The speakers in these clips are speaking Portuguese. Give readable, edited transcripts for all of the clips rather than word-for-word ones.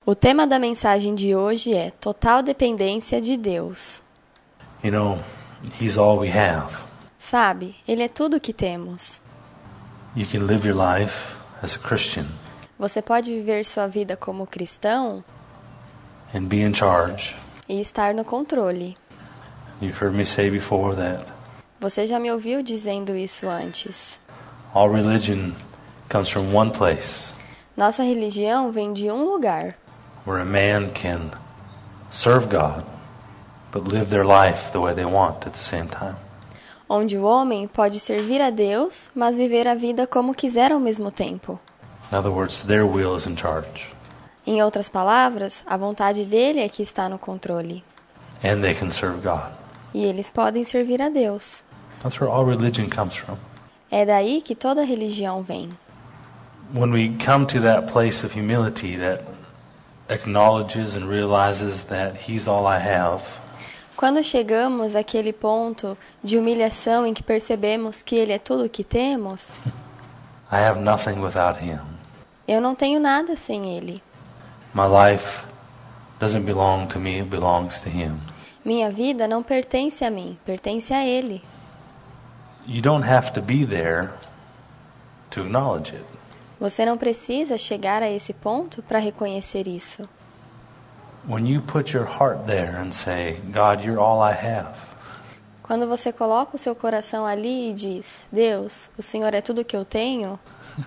O tema da mensagem de hoje é total dependência de Deus. You know, He's all we have. Sabe, Ele é tudo o que temos. You can live your life as a Christian Você pode viver sua vida como cristão and be in charge. e estar no controle. You've heard me say before that Você já me ouviu dizendo isso antes. all religion comes from one place Nossa religião vem de um lugar, where a man can serve God but live their life the way they want at the same time. onde o homem pode servir a Deus, mas viver a vida como quiser ao mesmo tempo. In other words, their will is in charge. Em outras palavras, a vontade dele é que está no controle. And they can serve God. E eles podem servir a Deus. That's where all religion comes from. É daí que toda religião vem. When we come to that place of humility that acknowledges and realizes that He's all I have, Quando chegamos àquele ponto de humilhação em que percebemos que Ele é tudo o que temos, I have nothing without Him. eu não tenho nada sem Ele. My life doesn't belong to me, it belongs to Him. Minha vida não pertence a mim, pertence a Ele. You don't have to be there to acknowledge it. Você não precisa chegar a esse ponto para reconhecer isso. When you put your heart there and say, God, you're all I have, Quando você coloca o seu coração ali e diz, Deus, o Senhor é tudo que eu tenho,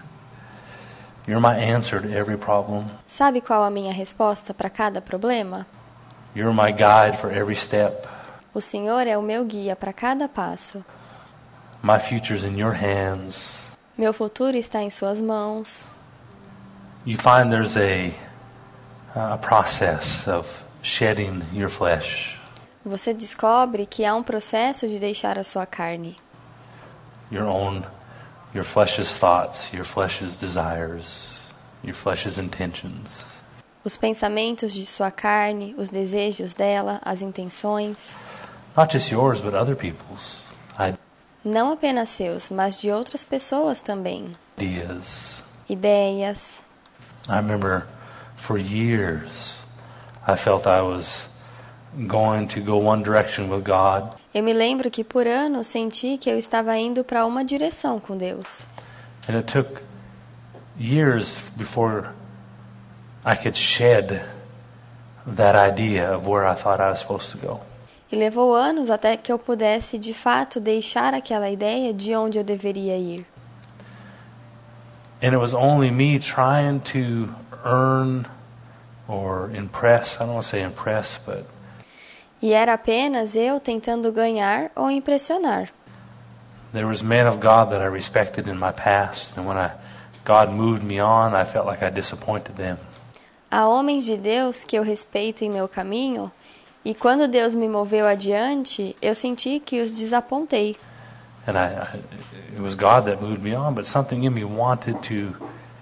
you're my answer to every problem. sabe qual a minha resposta para cada problema? You're my guide for every step. O Senhor é o meu guia para cada passo. My future's in your hands. Meu futuro está em suas mãos. You find there's a process of shedding your flesh. Você descobre que há um processo de deixar a sua carne. Your flesh's thoughts, your flesh's desires, your flesh's intentions. Os pensamentos de sua carne, os desejos dela, as intenções, Not just yours, but other people's não apenas seus, mas de outras pessoas também. ideas. Ideias. I remember for years I felt I was going to go one direction with God, Eu me lembro que por anos senti que eu estava indo para uma direção com Deus. and it took years before I could shed that idea of where I thought I was supposed to go. E levou anos até que eu pudesse, de fato, deixar aquela ideia de onde eu deveria ir. And it was only me trying to earn or impress, I don't want to say impress, but E era apenas eu tentando ganhar ou impressionar. there was men of God that I respected in my past, and when God moved me on, I felt like I disappointed them. Há homens de Deus que eu respeito em meu caminho, e quando Deus me moveu adiante, eu senti que os desapontei. And it was God that moved me on, but something in me wanted to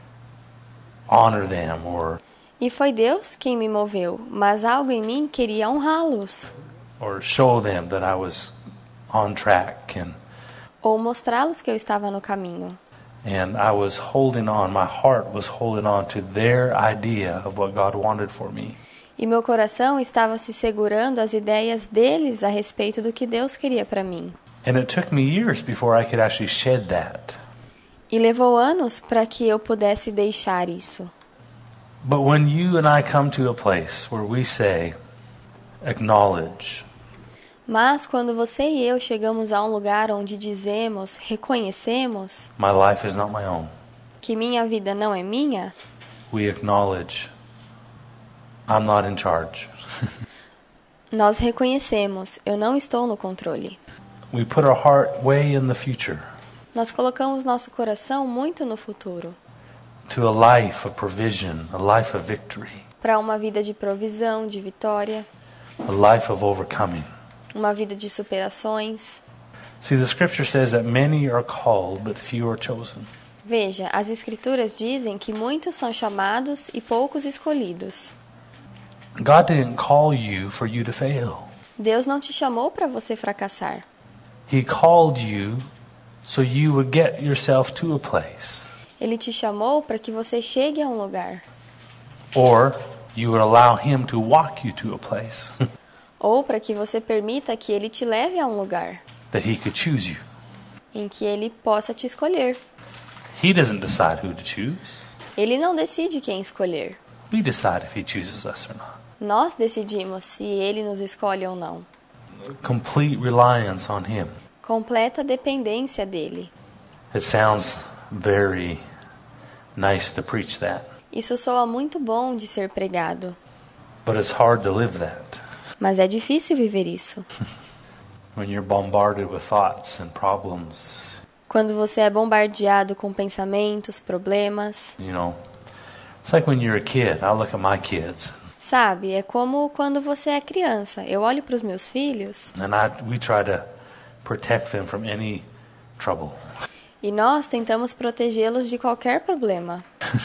honor them E foi Deus quem me moveu, mas algo em mim queria honrá-los, or show them that I was on track, ou mostrá-los que eu estava no caminho. and I was holding on, my heart was holding on to their idea of what God wanted for me. E meu coração estava se segurando às ideias deles a respeito do que Deus queria para mim. And it took me years before I could actually shed that. E levou anos para que eu pudesse deixar isso. But when you and I come to a place where we say, acknowledge, Mas quando você e eu chegamos a um lugar onde dizemos, reconhecemos my life is not my own, que minha vida não é minha, we acknowledge, I'm not in charge. nós reconhecemos, eu não estou no controle. We put our heart way in the future, Nós colocamos nosso coração muito no futuro, to a life of provision, a life of victory, para uma vida de provisão, de vitória, a life of overcoming. uma vida de superações. See, the scripture says that many are called, but few are chosen. Veja, as escrituras dizem que muitos são chamados e poucos escolhidos. God didn't call you for you to fail. Deus não te chamou para você fracassar. He called you so you would get yourself to a place. Ele te chamou para que você chegue a um lugar. Or you would allow him to walk you to a place Ou para que você permita que ele te leve a um lugar that he could choose you. em que ele possa te escolher. He doesn't decide who to choose. Ele não decide quem escolher. We decide if he chooses us or not. Nós decidimos se ele nos escolhe ou não. Complete reliance on him. Completa dependência dele. It sounds very nice to preach that, Isso soa muito bom de ser pregado, but it's hard to live that mas é difícil viver isso. when you're bombarded with thoughts and problems. Quando você é bombardeado com pensamentos, problemas. You know, it's like when you're a kid. I look at my kids, Sabe, é como quando você é criança. Eu olho para os meus filhos and we try to protect them from any trouble. e nós tentamos protegê-los de qualquer problema,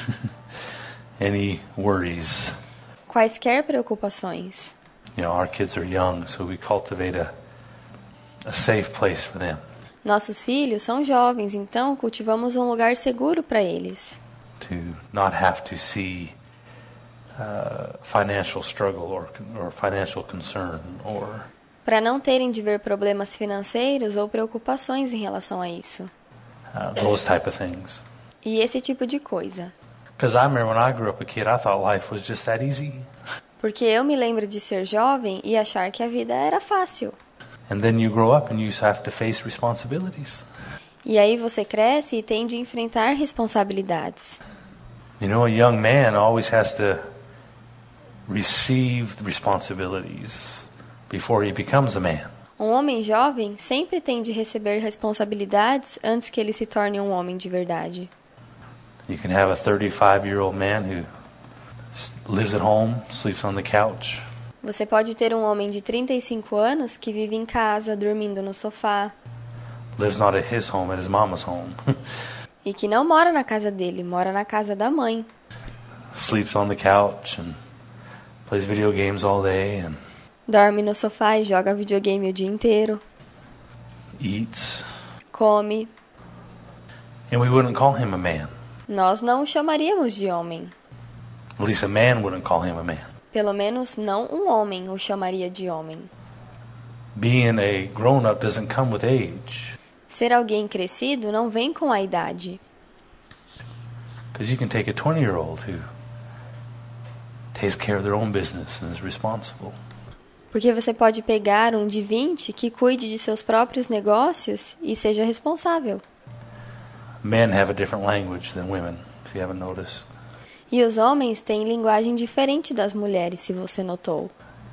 Any worries. quaisquer preocupações. You know, our kids are young, so we cultivate a safe place for them Nossos filhos são jovens, então cultivamos um lugar seguro para eles, to not have to see financial struggle or financial concern or para não terem de ver problemas financeiros ou preocupações em relação a isso. those type of things. E esse tipo de coisa. Because I remember when I grew up a kid, I thought life was just that easy. Porque eu me lembro de ser jovem e achar que a vida era fácil. And then you grow up and you have to face responsibilities. E aí você cresce e tem de enfrentar responsabilidades. You know, a young man always has to receive responsibilities before he becomes a man. Um homem jovem sempre tem de receber responsabilidades antes que ele se torne um homem de verdade. You can have a 35-year-old man who lives at home, sleeps on the couch, Você pode ter um homem de 35 anos que vive em casa, dormindo no sofá, lives not at his home, at his mama's home, e que não mora na casa dele, mora na casa da mãe. sleeps on the couch and plays video games all day and Dorme no sofá e joga videogame o dia inteiro, eats. come. And we wouldn't call him a man. Nós não o chamaríamos de homem. At least a man wouldn't call him a man. Pelo menos não um homem o chamaria de homem. Being a grown-up doesn't come with age. Ser alguém crescido não vem com a idade. Because you can take a 20-year-old who takes care of their own business and is responsible. Porque você pode pegar um de 20 que cuide de seus próprios negócios e seja responsável. Men have a different language than women, if you haven't noticed. E os homens têm linguagem diferente das mulheres, se você notou.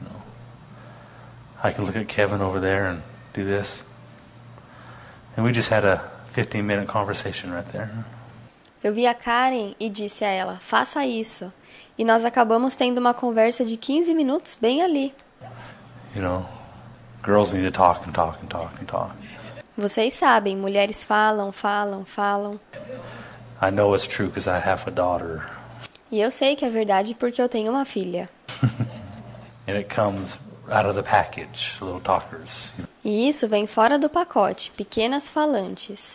I can look at Kevin over there and do this. And we just had a 15-minute conversation right there. Eu vi a Karen e disse a ela, faça isso. E nós acabamos tendo uma conversa de 15 minutos bem ali. You know, girls need to talk and talk and talk and talk. Vocês sabem, mulheres falam, falam, falam. I know it's true because I have a daughter. E eu sei que é verdade porque eu tenho uma filha. And it comes out of the package, little talkers. You know. E isso vem fora do pacote, pequenas falantes.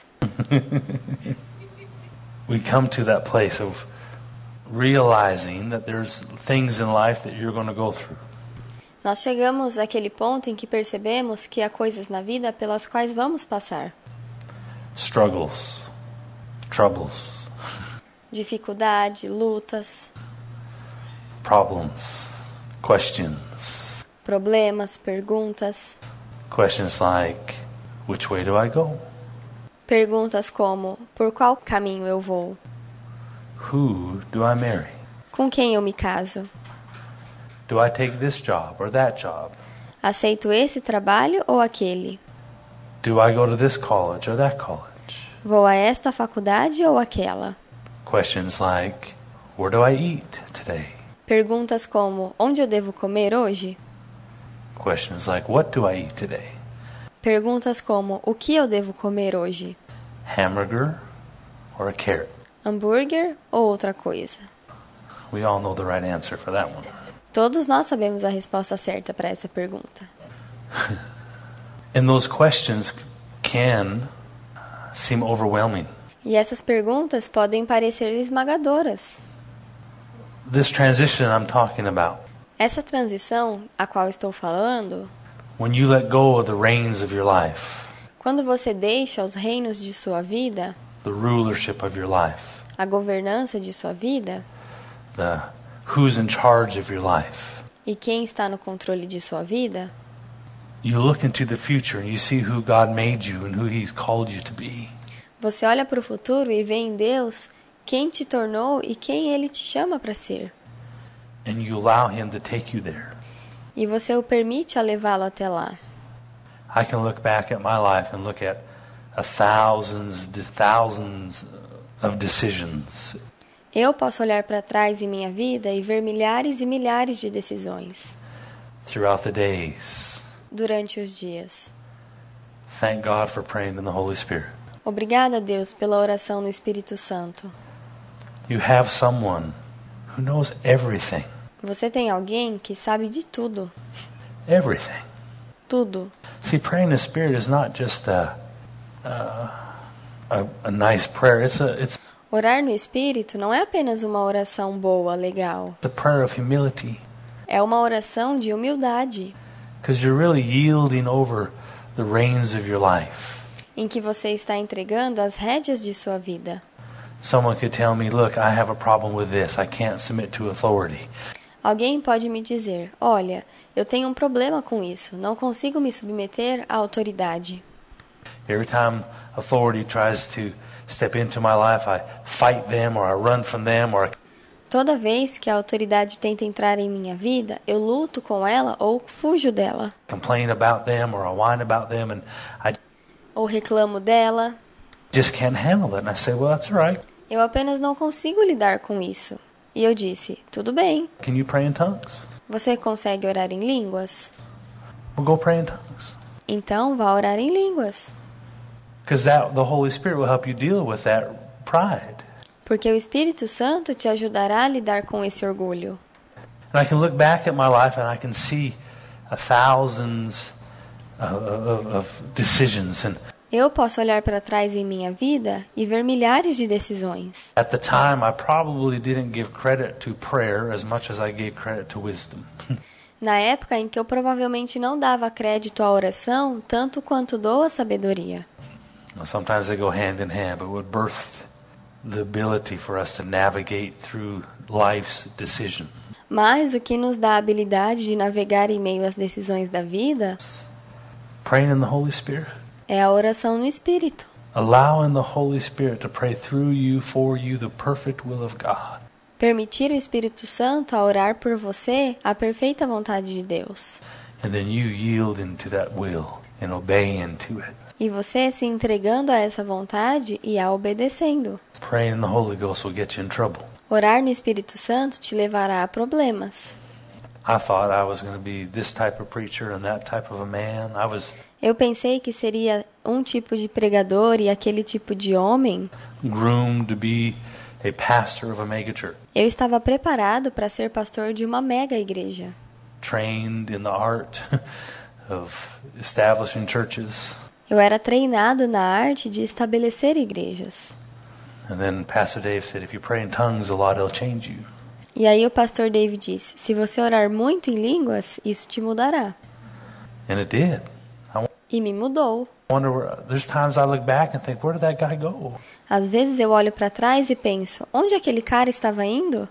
We come to that place of realizing that there's things in life that you're going to go through. Nós chegamos àquele ponto em que percebemos que há coisas na vida pelas quais vamos passar. Struggles, troubles, Dificuldade, lutas, problems, questions. problemas, perguntas. Questions like, which way do I go? Perguntas como, por qual caminho eu vou? Who do I marry? Com quem eu me caso? Do I take this job or that job? Aceito esse trabalho ou aquele? Do I go to this college or that college? Vou a esta faculdade ou aquela? Questions like, where do I eat today? Perguntas como, onde eu devo comer hoje? Questions like, what do I eat today? Perguntas como, o que eu devo comer hoje? Hamburger or a carrot? Hambúrguer ou outra coisa? We all know the right answer for that one. Todos nós sabemos a resposta certa para essa pergunta. And those questions can seem overwhelming. E essas perguntas podem parecer esmagadoras. This transition I'm talking about, Essa transição a qual estou falando, when you let go of the reins of your life, quando você deixa os reinos de sua vida, the rulership of your life, a governança de sua vida, the who's in charge of your life, e quem está no controle de sua vida, you look into the future and you see who God made you and who He's called you to be. você olha para o futuro e vê em Deus quem te tornou e quem Ele te chama para ser. And you allow Him to take you there. E você o permite a levá-lo até lá. I can look back at my life and look at thousands of decisions. Eu posso olhar para trás em minha vida e ver milhares e milhares de decisões Throughout the days. durante os dias. Thank God for praying in the Holy Spirit. Obrigada, Deus, pela oração no Espírito Santo. You have someone who knows everything. Você tem alguém que sabe de tudo. Everything. Tudo. See, praying in the Spirit is not just a nice prayer. It's Orar no Espírito não é apenas uma oração boa, legal. a prayer of humility. É uma oração de humildade, Because you're really yielding over the reins of your life. em que você está entregando as rédeas de sua vida. Someone could tell me, look, I have a problem with this. I can't submit to authority. Alguém pode me dizer, olha, eu tenho um problema com isso, não consigo me submeter à autoridade. Every time authority tries to step into my life, I fight them or I run from them or Toda vez que a autoridade tenta entrar em minha vida, eu luto com ela ou fujo dela. complain about them or I whine about them and I Ou reclamo dela. just can't handle it. And I say, well, that's all right. Eu apenas não consigo lidar com isso. E eu disse, tudo bem. Can you pray in tongues? Você consegue orar em línguas? We'll go pray in tongues. Então vá orar em línguas. Because the Holy Spirit will help you deal with that pride. Porque o Espírito Santo te ajudará a lidar com esse orgulho. And I can look back at my life and I can see thousands of decisions. And Eu posso olhar para trás em minha vida e ver milhares de decisões. at the time, I probably didn't give credit to prayer as much as I gave credit to wisdom. Na época em que eu provavelmente não dava crédito à oração, tanto quanto dou à sabedoria. Sometimes they go hand in hand, but what birthed the ability for us to navigate through life's decision. Mas o que nos dá a habilidade de navegar em meio às decisões da vida Praying in the Holy Spirit. é a oração no Espírito. Allowing the Holy Spirit to pray through you, for you, the perfect will of God. Permitir o Espírito Santo a orar por você a perfeita vontade de Deus. And then you yield into that will and obey into it. E você se entregando a essa vontade e a obedecendo. Praying in the Holy Ghost will get you in trouble. Orar no Espírito Santo te levará a problemas. I thought I was going to be this type of preacher and that type of a man. Eu pensei que seria um tipo de pregador e aquele tipo de homem. groomed to be a pastor of a megachurch. Eu estava preparado para ser pastor de uma mega igreja. Trained in the art of establishing churches. Eu era treinado na arte de estabelecer igrejas. And then Pastor Dave said, if you pray in tongues a lot, it'll change you. E aí o pastor Dave disse, se você orar muito em línguas, isso te mudará. And it did. E me mudou. There's times I look back and think, where did that guy go? Às vezes eu olho para trás e penso, onde aquele cara estava indo?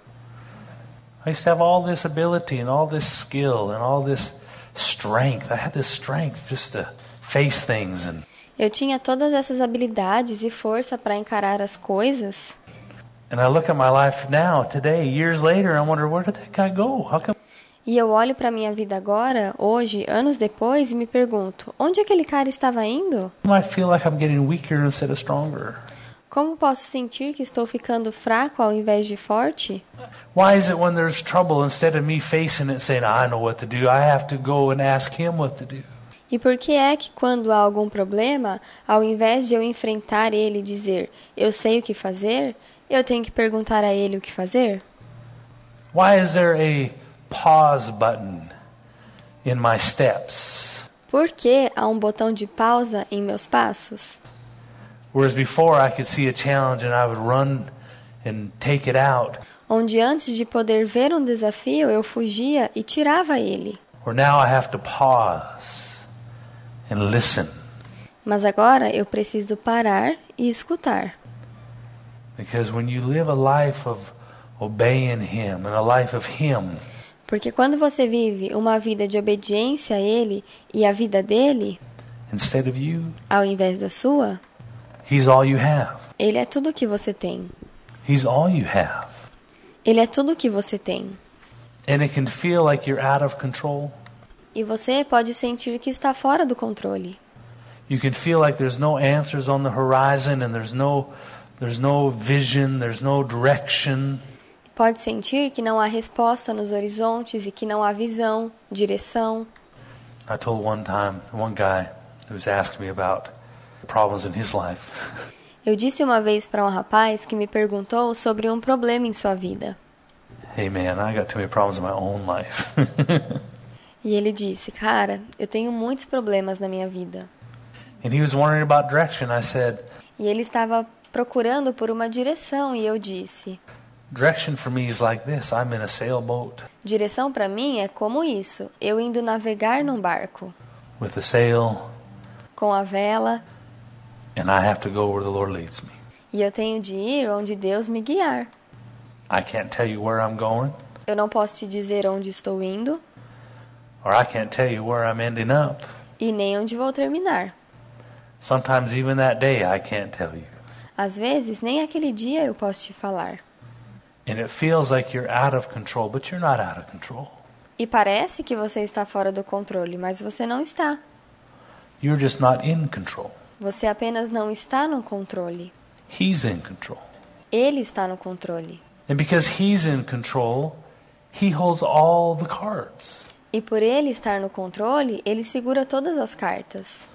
I used to have all this ability and all this skill and all this strength. I had this strength just to face things. Eu tinha todas essas habilidades e força para encarar as coisas. And I look at my life now, today, years later, I wonder, where did that guy go? How come? E eu olho para minha vida agora, hoje, anos depois, e me pergunto, onde aquele cara estava indo? I feel like I'm getting weaker instead of stronger. Como posso sentir que estou ficando fraco ao invés de forte? Why is it when there's trouble, instead of me facing it saying, I know what to do, I have to go and ask him what to do? E por que é que quando há algum problema, ao invés de eu enfrentar ele e dizer, eu sei o que fazer, eu tenho que perguntar a ele o que fazer? Why is there a pause button in my steps? Por que há um botão de pausa em meus passos? Whereas before I could see a challenge and I would run and take it out. onde antes de poder ver um desafio eu fugia e tirava ele. Where now I have to pause and listen. Mas agora eu preciso parar e escutar. Because when you live a life of obeying Him and a life of Him, Porque quando você vive uma vida de obediência a Ele e a vida dele, instead of you, ao invés da sua, He's all you have. Ele é tudo que você tem. He's all you have. Ele é tudo que você tem. And it can feel like you're out of control. E você pode sentir que está fora do controle. You can feel like there's no answers on the horizon and there's no vision, there's no direction. Pode sentir que não há resposta nos horizontes e que não há visão, direção. I told one guy who was asking me about problems in his life. Eu disse uma vez para um rapaz que me perguntou sobre um problema em sua vida. Hey man, I got too many problems in my own life. E ele disse, cara, eu tenho muitos problemas na minha vida. And he was wondering about direction. I said, E ele estava procurando por uma direção e eu disse, direction for me is like this. I'm in a sailboat direção para mim é como isso, eu indo navegar num barco, with a sail com a vela, and I have to go where the Lord leads me. e eu tenho de ir onde Deus me guiar. I can't tell you where I'm going, Eu não posso te dizer onde estou indo or I can't tell you where I'm ending up. e nem onde vou terminar. Sometimes even that day I can't tell you. Às vezes, nem aquele dia eu posso te falar. And it feels like you're out of control, but you're not out of control. E parece que você está fora do controle, mas você não está. You're just not in control. Você apenas não está no controle. He's in control. Ele está no controle. And because He's in control, He holds all the cards. E por ele estar no controle, ele segura todas as cartas.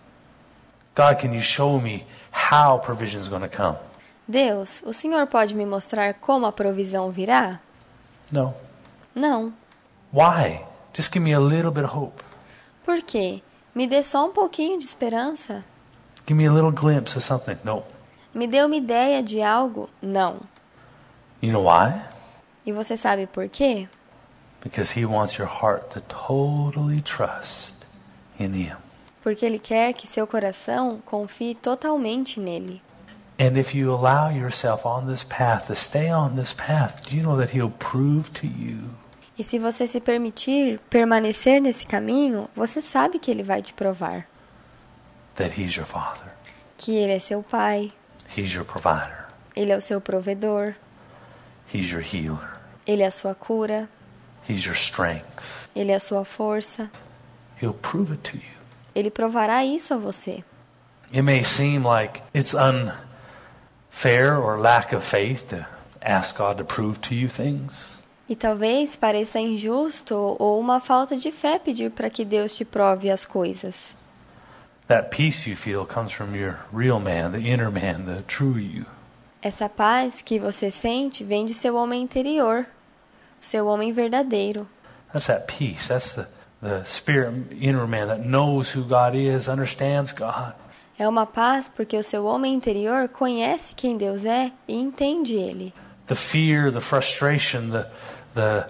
God, can you show me how provision is going to come? Deus, o Senhor pode me mostrar como a provisão virá? No. Não. Why? Just give me a little bit of hope. Por quê? Me dê só um pouquinho de esperança. Give me a little glimpse of something. No. Me dê uma ideia de algo? Não. You know why? E você sabe por quê? Because He wants your heart to totally trust in Him. Porque Ele quer que seu coração confie totalmente nele. And if you allow yourself on this path, to stay on this path, do you know that He'll prove to you E se você se permitir permanecer nesse caminho, você sabe que Ele vai te provar that He's your Father, que Ele é seu Pai, He's your provider, Ele é o seu provedor, He's your healer, Ele é a sua cura, He's your strength. Ele é a sua força. He'll prove it to you. Ele provará isso a você. It may seem like it's unfair or lack of faith to ask God to prove to you things. E talvez pareça injusto ou uma falta de fé pedir para que Deus te prove as coisas. That peace you feel comes from your real man, the inner man, the true you. Essa paz que você sente vem de seu homem interior, o seu homem verdadeiro. That's that peace. That's the spirit inner man that knows who God is, understands God. É uma paz porque o seu homem interior conhece quem Deus é e entende Ele. The fear, the frustration, the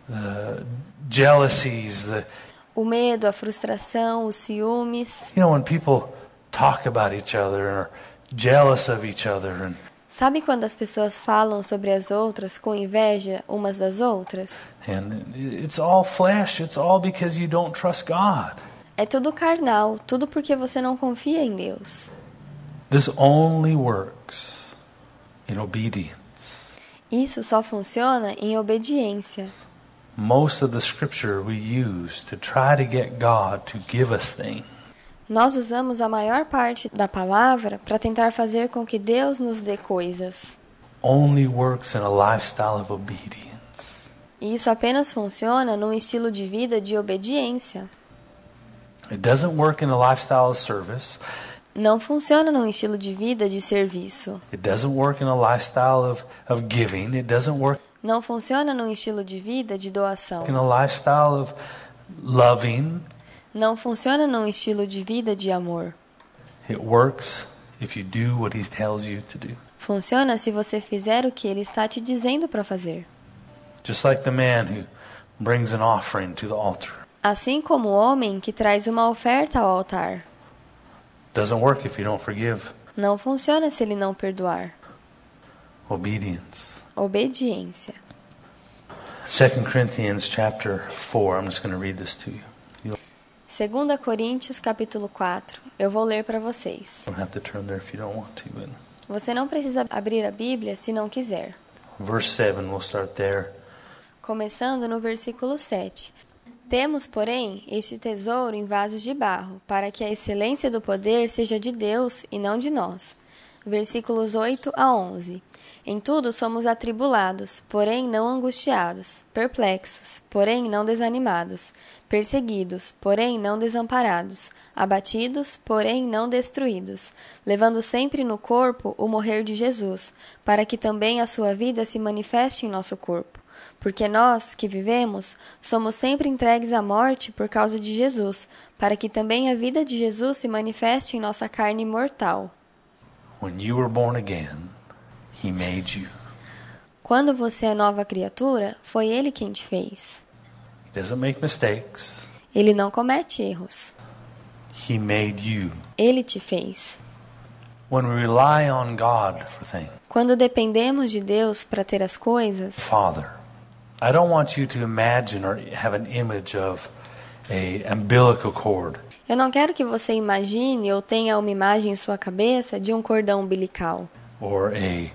jealousies, O medo, a frustração, os ciúmes. you know, when people talk about each other and are jealous of each other, and Sabe quando as pessoas falam sobre as outras com inveja umas das outras? it's all flesh. It's all because you don't trust God. É tudo carnal, tudo porque você não confia em Deus. This only works in obedience. Isso só funciona em obediência. Most of the scripture we use to try to get God to give us things Nós usamos a maior parte da palavra para tentar fazer com que Deus nos dê coisas. only works in a lifestyle of obedience. E isso apenas funciona num estilo de vida de obediência. It doesn't work in a lifestyle of service. Não funciona num estilo de vida de serviço. It doesn't work in a lifestyle of giving. It doesn't work Não funciona num estilo de vida de doação. in a lifestyle of loving. Não funciona num estilo de vida de amor. It works if you do what He tells you to do. Funciona se você fizer o que Ele está te dizendo para fazer. Just like the man who brings an offering to the altar. Assim como o homem que traz uma oferta ao altar. Doesn't work if you don't forgive. Não funciona se ele não perdoar. Obedience. Obediência. 2 Corinthians chapter 4. I'm just going to read this to you. 2 Coríntios capítulo 4. Eu vou ler para vocês. You don't have to turn there if you don't want to. But Você não precisa abrir a Bíblia se não quiser. verse 7, we'll start there. Começando no versículo 7. Temos, porém, este tesouro em vasos de barro, para que a excelência do poder seja de Deus e não de nós. Versículos 8 a 11. Em tudo somos atribulados, porém não angustiados, perplexos, porém não desanimados, perseguidos, porém não desamparados, abatidos, porém não destruídos, levando sempre no corpo o morrer de Jesus, para que também a sua vida se manifeste em nosso corpo. Porque nós, que vivemos, somos sempre entregues à morte por causa de Jesus, para que também a vida de Jesus se manifeste em nossa carne mortal. When you were born again, He made you. Quando você é nova criatura, foi Ele quem te fez. He doesn't make mistakes. Ele não comete erros. He made you. Ele te fez. When we rely on God for things, Quando dependemos de Deus para ter as coisas, Father, I don't want you to imagine or have an image of a umbilical cord. eu não quero que você imagine ou tenha uma imagem em sua cabeça de um cordão umbilical, Or a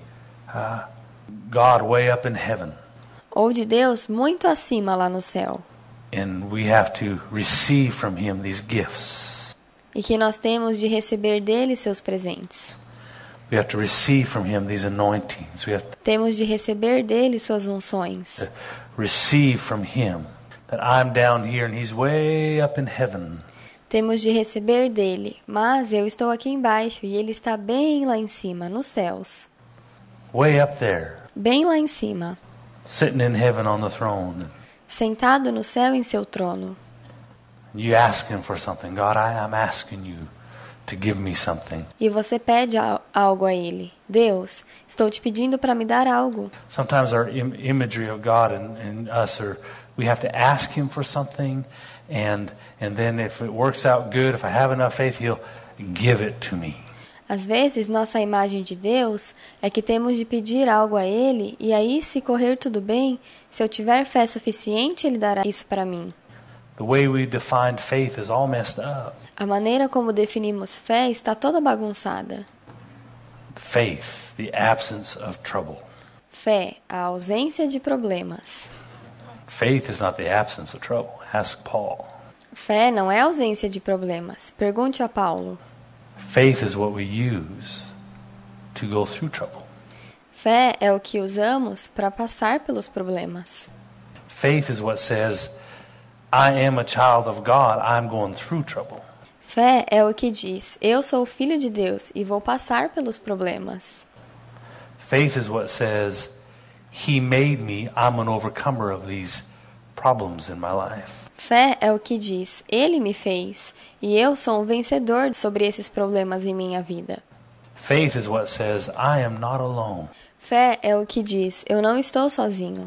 God way up in heaven, ou de Deus muito acima lá no céu, and we have to receive from Him these gifts. e que nós temos de receber dele seus presentes. We have to receive from Him these anointings. We have to Temos de receber dele suas unções. receive from Him that I'm down here and He's way up in heaven. Temos de receber dele, mas eu estou aqui embaixo e ele está bem lá em cima, nos céus. Way up there, Bem lá em cima, sitting in heaven on the throne. sentado no céu em seu trono. You ask Him for something. God, I'm asking you to give me something. E você pede algo a ele. Deus, estou te pedindo para me dar algo. Sometimes our imagery of God and us are, we have to ask Him for something, and then if it works out good, if I have enough faith, He'll give it to me. Às vezes, nossa imagem de Deus é que temos de pedir algo a ele, e aí, se correr tudo bem, se eu tiver fé suficiente, ele dará isso para mim. The way we defined faith is all messed up. A maneira como definimos fé está toda bagunçada. Faith, the absence of trouble. Fé, a ausência de problemas. Faith is not the absence of trouble. Ask Paul. Fé não é ausência de problemas. Pergunte a Paulo. Faith is what we use to go through trouble. Fé é o que usamos para passar pelos problemas. Faith is what says, I am a child of God, I'm going through trouble. Fé é o que diz, eu sou filho de Deus e vou passar pelos problemas. Faith is what says, He made me, I'm an overcomer of these problems in my life. Fé é o que diz, Ele me fez e eu sou um vencedor sobre esses problemas em minha vida. Faith is what says, I am not alone. Fé é o que diz, eu não estou sozinho.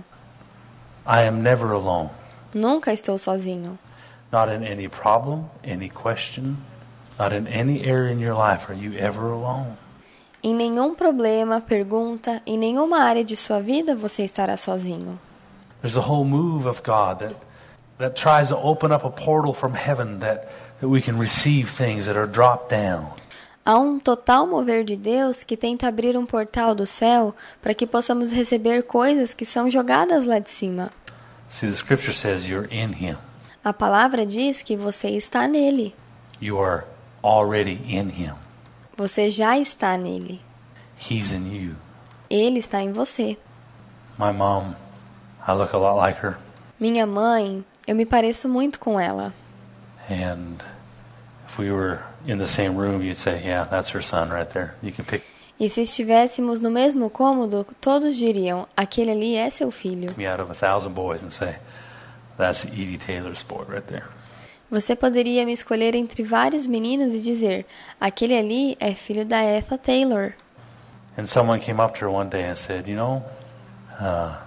I am never alone. Nunca estou sozinho. Not in any problem, any question, not in any area in your life are you ever alone. Em nenhum problema, pergunta, em nenhuma área de sua vida você estará sozinho. There's a whole move of God that tries to open up a portal from heaven that we can receive things that are dropped down. Há um total mover de Deus que tenta abrir um portal do céu para que possamos receber coisas que são jogadas lá de cima. See, the scripture says you're in Him. A palavra diz que você está nele. You are already in Him. Você já está nele. He's in you. Ele está em você. My mom, I look a lot like her. Minha mãe, eu me pareço muito com ela. And if we were in the same room, you'd say, yeah, that's her son right there. You can pick E se estivéssemos no mesmo cômodo, todos diriam, aquele ali é seu filho. me out of 1,000 boys and say, that's Edie Taylor's boy right there. Você poderia me escolher entre vários meninos e dizer, aquele ali é filho da Etha Taylor. And someone came up to her one day and said, you know,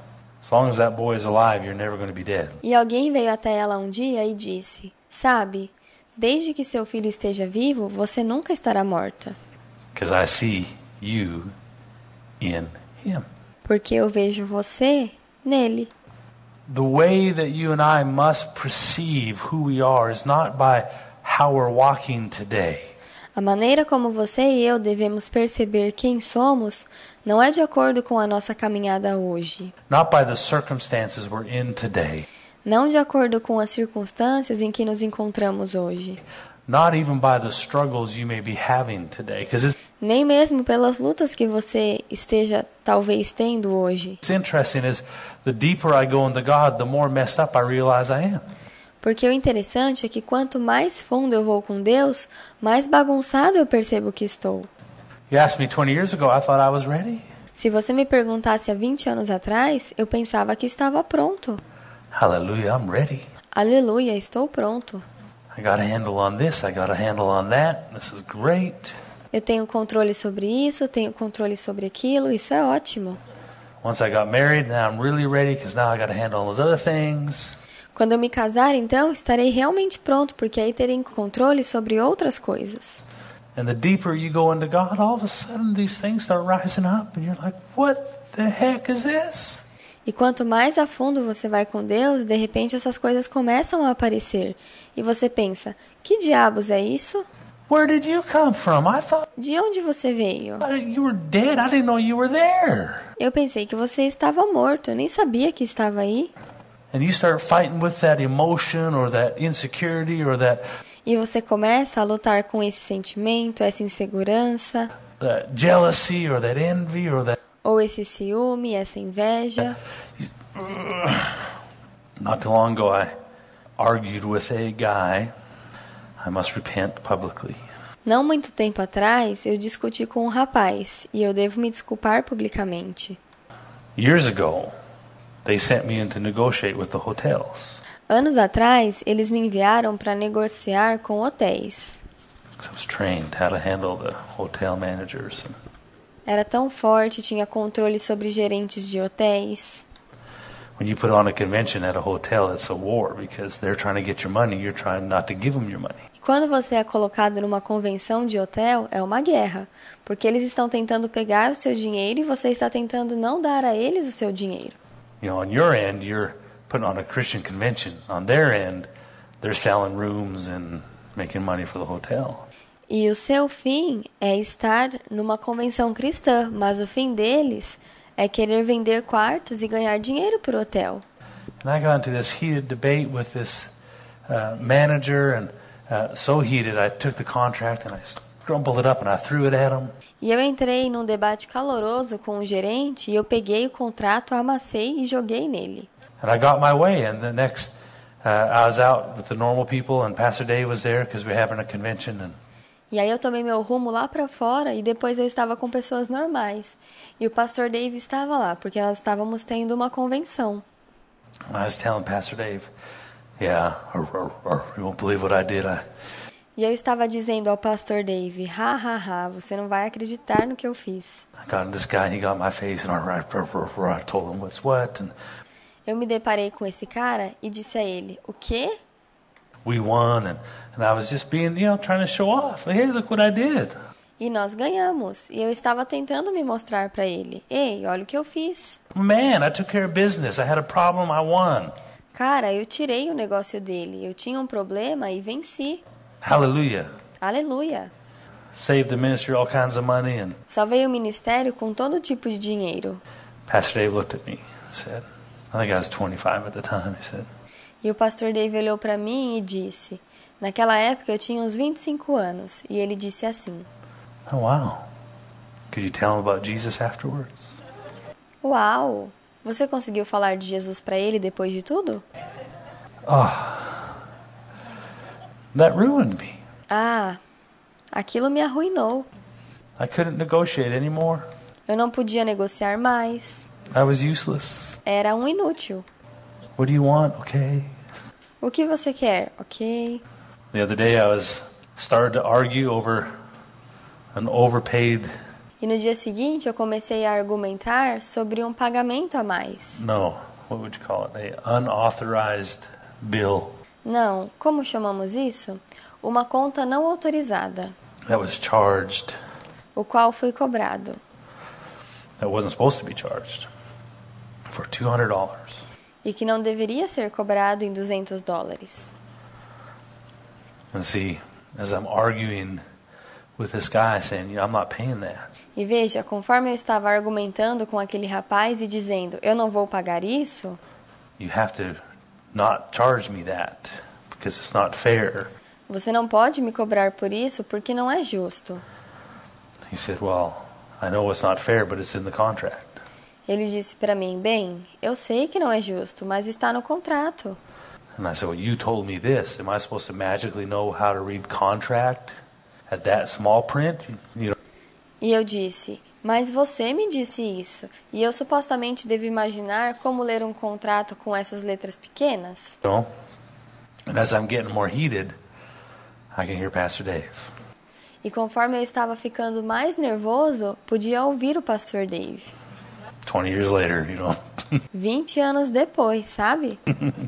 As long as that boy is alive, you're never going to be dead. E alguém veio até ela um dia e disse: Sabe, desde que seu filho esteja vivo, você nunca estará morta. Because I see you in him. Porque eu vejo você nele. The way that you and I must perceive who we are is not by how we're walking today. A maneira como você e eu devemos perceber quem somos não é de acordo com a nossa caminhada hoje. Not by the circumstances we're in today. Não de acordo com as circunstâncias em que nos encontramos hoje. Not even by the struggles you may be having today. Because Nem mesmo pelas lutas que você esteja talvez tendo hoje. it's interesting is the deeper I go into God, the more messed up I realize I am. Porque o interessante é que quanto mais fundo eu vou com Deus, mais bagunçado eu percebo que estou. You asked me 20 years ago, I thought I was ready. Se você me perguntasse há 20 anos atrás, eu pensava que estava pronto. Hallelujah, I'm ready. Aleluia, estou pronto. I got a handle on this, I got a handle on that. This is great. Eu tenho controle sobre isso, tenho controle sobre aquilo, isso é ótimo. Once I got married, now I'm really ready because now I got a handle on those other things. Quando eu me casar, então, estarei realmente pronto, porque aí terei controle sobre outras coisas. And the deeper you go into God, all of a sudden these things start rising up and you're like, what the heck is this? E quanto mais a fundo você vai com Deus, de repente essas coisas começam a aparecer. E você pensa, que diabos é isso? Where did you come from? I thought De onde você veio? you were dead. I didn't know you were there. Eu pensei que você estava morto, eu nem sabia que estava aí. And you start fighting with that emotion or that insecurity or that E você começa a lutar com esse sentimento, essa insegurança, jealousy or that envy or that. ou esse ciúme, essa inveja. Not too long ago, I argued with a guy. I must repent publicly. Não muito tempo atrás, eu discuti com um rapaz e eu devo me desculpar publicamente. Years ago, they sent me in to negotiate with the hotels. Anos atrás, eles me enviaram para negociar com hotéis. I was trained how to handle the hotel managers. Era tão forte, tinha controle sobre gerentes de hotéis. When you put on a convention at a hotel, it's a war because they're trying to get your money. You're trying not to give them your money. E quando você é colocado numa convenção de hotel, é uma guerra, porque eles estão tentando pegar o seu dinheiro e você está tentando não dar a eles o seu dinheiro. You know, on your end, you're putting on a Christian convention. On their end, they're selling rooms and making money for the hotel. E o seu fim é estar numa convenção cristã, mas o fim deles é querer vender quartos e ganhar dinheiro por hotel. And I got into this heated debate with this manager, and so heated, I took the contract and I crumpled it up and I threw it at him. E eu entrei num debate caloroso com o gerente e eu peguei o contrato, amassei e joguei nele. And I got my way, and the next, I was out with the normal people, and Pastor Dave was there because we're having a convention. And E aí eu tomei meu rumo lá para fora e depois eu estava com pessoas normais. E o pastor Dave estava lá, porque nós estávamos tendo uma convenção. I was telling Pastor Dave, yeah, you won't believe what I did. E eu estava dizendo ao pastor Dave, você não vai acreditar no que eu fiz. I got this guy, and he got my face, and I told him what's what. And Eu me deparei com esse cara e disse a ele, o quê? we won, and I was just being, trying to show off. Hey, look what I did. E nós ganhamos. E eu estava tentando me mostrar para ele. Ei, olha o que eu fiz. Man, I took care of business. I had a problem, I won. Cara, eu tirei o negócio dele. Eu tinha um problema e venci. Hallelujah. Aleluia. Saved the ministry all kinds of money. And Salvei o ministério com todo tipo de dinheiro. Pastor Dave looked at me and said, I think I was 25 at the time, he said, E o pastor Dave olhou para mim e disse, naquela época eu tinha uns 25 anos, e ele disse assim, oh, wow. Could you tell him about Jesus afterwards? uau, você conseguiu falar de Jesus para ele depois de tudo? That ruined me. Ah, aquilo me arruinou. I couldn't negotiate anymore. Eu não podia negociar mais. I was useless. Era um inútil. What do you want? Okay. O que você quer? Ok. The other day I started to argue over an overpaid. E no dia seguinte eu comecei a argumentar sobre um pagamento a mais. No, what would you call it? A unauthorized bill Não, como chamamos isso? Uma conta não autorizada, that was charged o qual foi cobrado, that wasn't supposed to be charged for $200. e que não deveria ser cobrado em $200. And see, as I'm arguing with this guy saying, I'm not paying that. E veja, conforme eu estava argumentando com aquele rapaz e dizendo, eu não vou pagar isso, You have to not charge me that because it's not fair. você não pode me cobrar por isso porque não é justo. He said, well, I know it's not fair, but it's in the contract. Ele disse para mim, bem, eu sei que não é justo, mas está no contrato. And I said, well, you told me this. Am I supposed to magically know how to read contract at that small print? You know, E eu disse, mas você me disse isso, e eu supostamente devo imaginar como ler um contrato com essas letras pequenas? And as I'm getting more heated, I can hear Pastor Dave. E conforme eu estava ficando mais nervoso, podia ouvir o pastor Dave. 20 years later, 20 anos depois, sabe?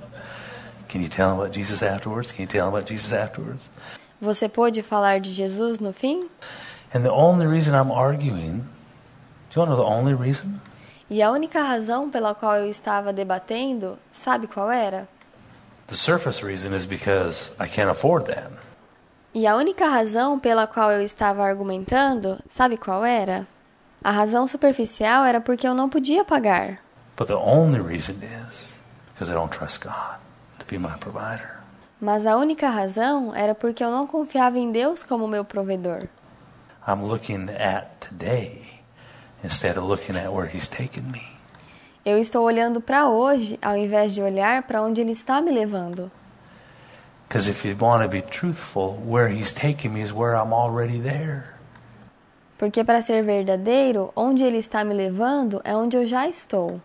Can you tell him about Jesus afterwards? Can you tell him about Jesus afterwards? Você pôde falar de Jesus no fim? And the only reason I'm arguing, do you want to know the only reason? E a única razão pela qual eu estava debatendo, sabe qual era? The surface reason is because I can't afford that. E a única razão pela qual eu estava argumentando, sabe qual era? A razão superficial era porque eu não podia pagar. But the only reason is because I don't trust God to be my provider. Mas a única razão era porque eu não confiava em Deus como meu provedor. I'm looking at today instead of looking at where He's taken me. Eu estou olhando para hoje, ao invés de olhar para onde Ele está me levando. Because if you want to be truthful, where He's taking me is where I'm already there. Porque para ser verdadeiro, onde Ele está me levando é onde eu já estou.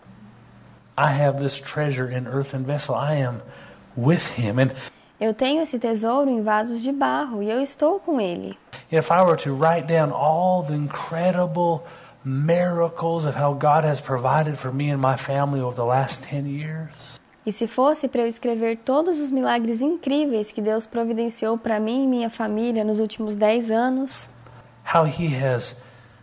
I have this treasure in earthen vessel. I am with Him. And Eu tenho esse tesouro em vasos de barro e eu estou com Ele. if I were to write down all the incredible miracles of how God has provided for me and my family over the last 10 years, E se fosse para eu escrever todos os milagres incríveis que Deus providenciou para mim e minha família nos últimos 10 anos, how He has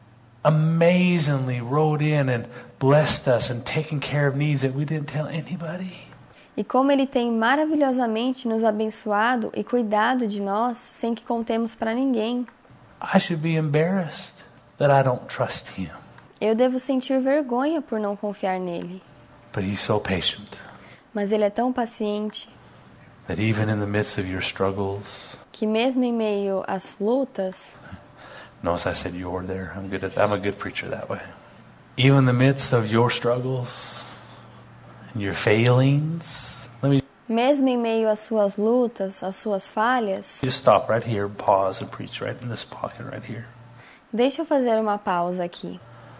amazingly rode in and blessed us and taken care of needs that we didn't tell anybody. e como Ele tem maravilhosamente nos abençoado e cuidado de nós sem que contemos para ninguém, I should be embarrassed that I don't trust Him. eu devo sentir vergonha por não confiar nele. But He's so patient Mas Ele é tão paciente that even in the midst of your struggles, que mesmo em meio às lutas, notice I said you're there. I'm a good preacher that way. Even in the midst of your struggles and your failings, let me mesmo em meio às suas lutas, às suas falhas, just stop right here, pause and preach right in this pocket right here. deixa eu fazer uma pausa aqui.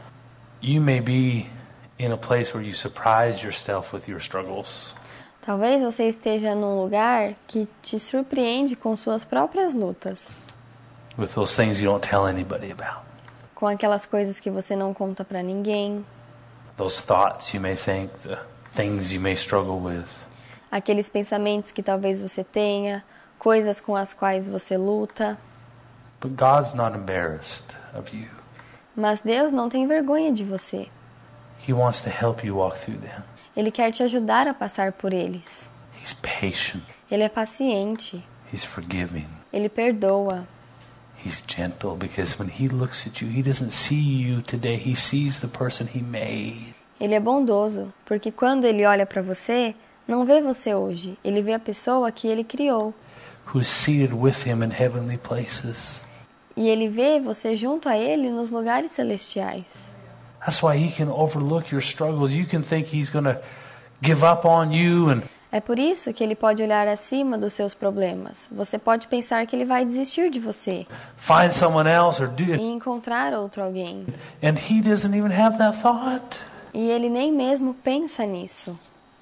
You may be in a place where you surprise yourself with your struggles. Talvez você esteja num lugar que te surpreende com suas próprias lutas, With those things you don't tell anybody about. com aquelas coisas que você não conta para ninguém, Those thoughts you may think, the things you may struggle with. aqueles pensamentos que talvez você tenha, coisas com as quais você luta. But God's not embarrassed of you. Mas Deus não tem vergonha de você. He wants to help you walk through them. Ele quer te ajudar a passar por eles. He's patient. Ele é paciente. He's forgiving. Ele perdoa. He's gentle because when He looks at you, He doesn't see you today. He sees the person He made. Ele é bondoso, porque quando Ele olha para você, não vê você hoje. Ele vê a pessoa que Ele criou. Who's seated with Him in heavenly places. E Ele vê você junto a Ele nos lugares celestiais. That's why He can overlook your struggles. You can think He's going to give up on you and É por isso que Ele pode olhar acima dos seus problemas. Você pode pensar que Ele vai desistir de você find someone else or do e it. encontrar outro alguém. And He doesn't even have that thought. E Ele nem mesmo pensa nisso.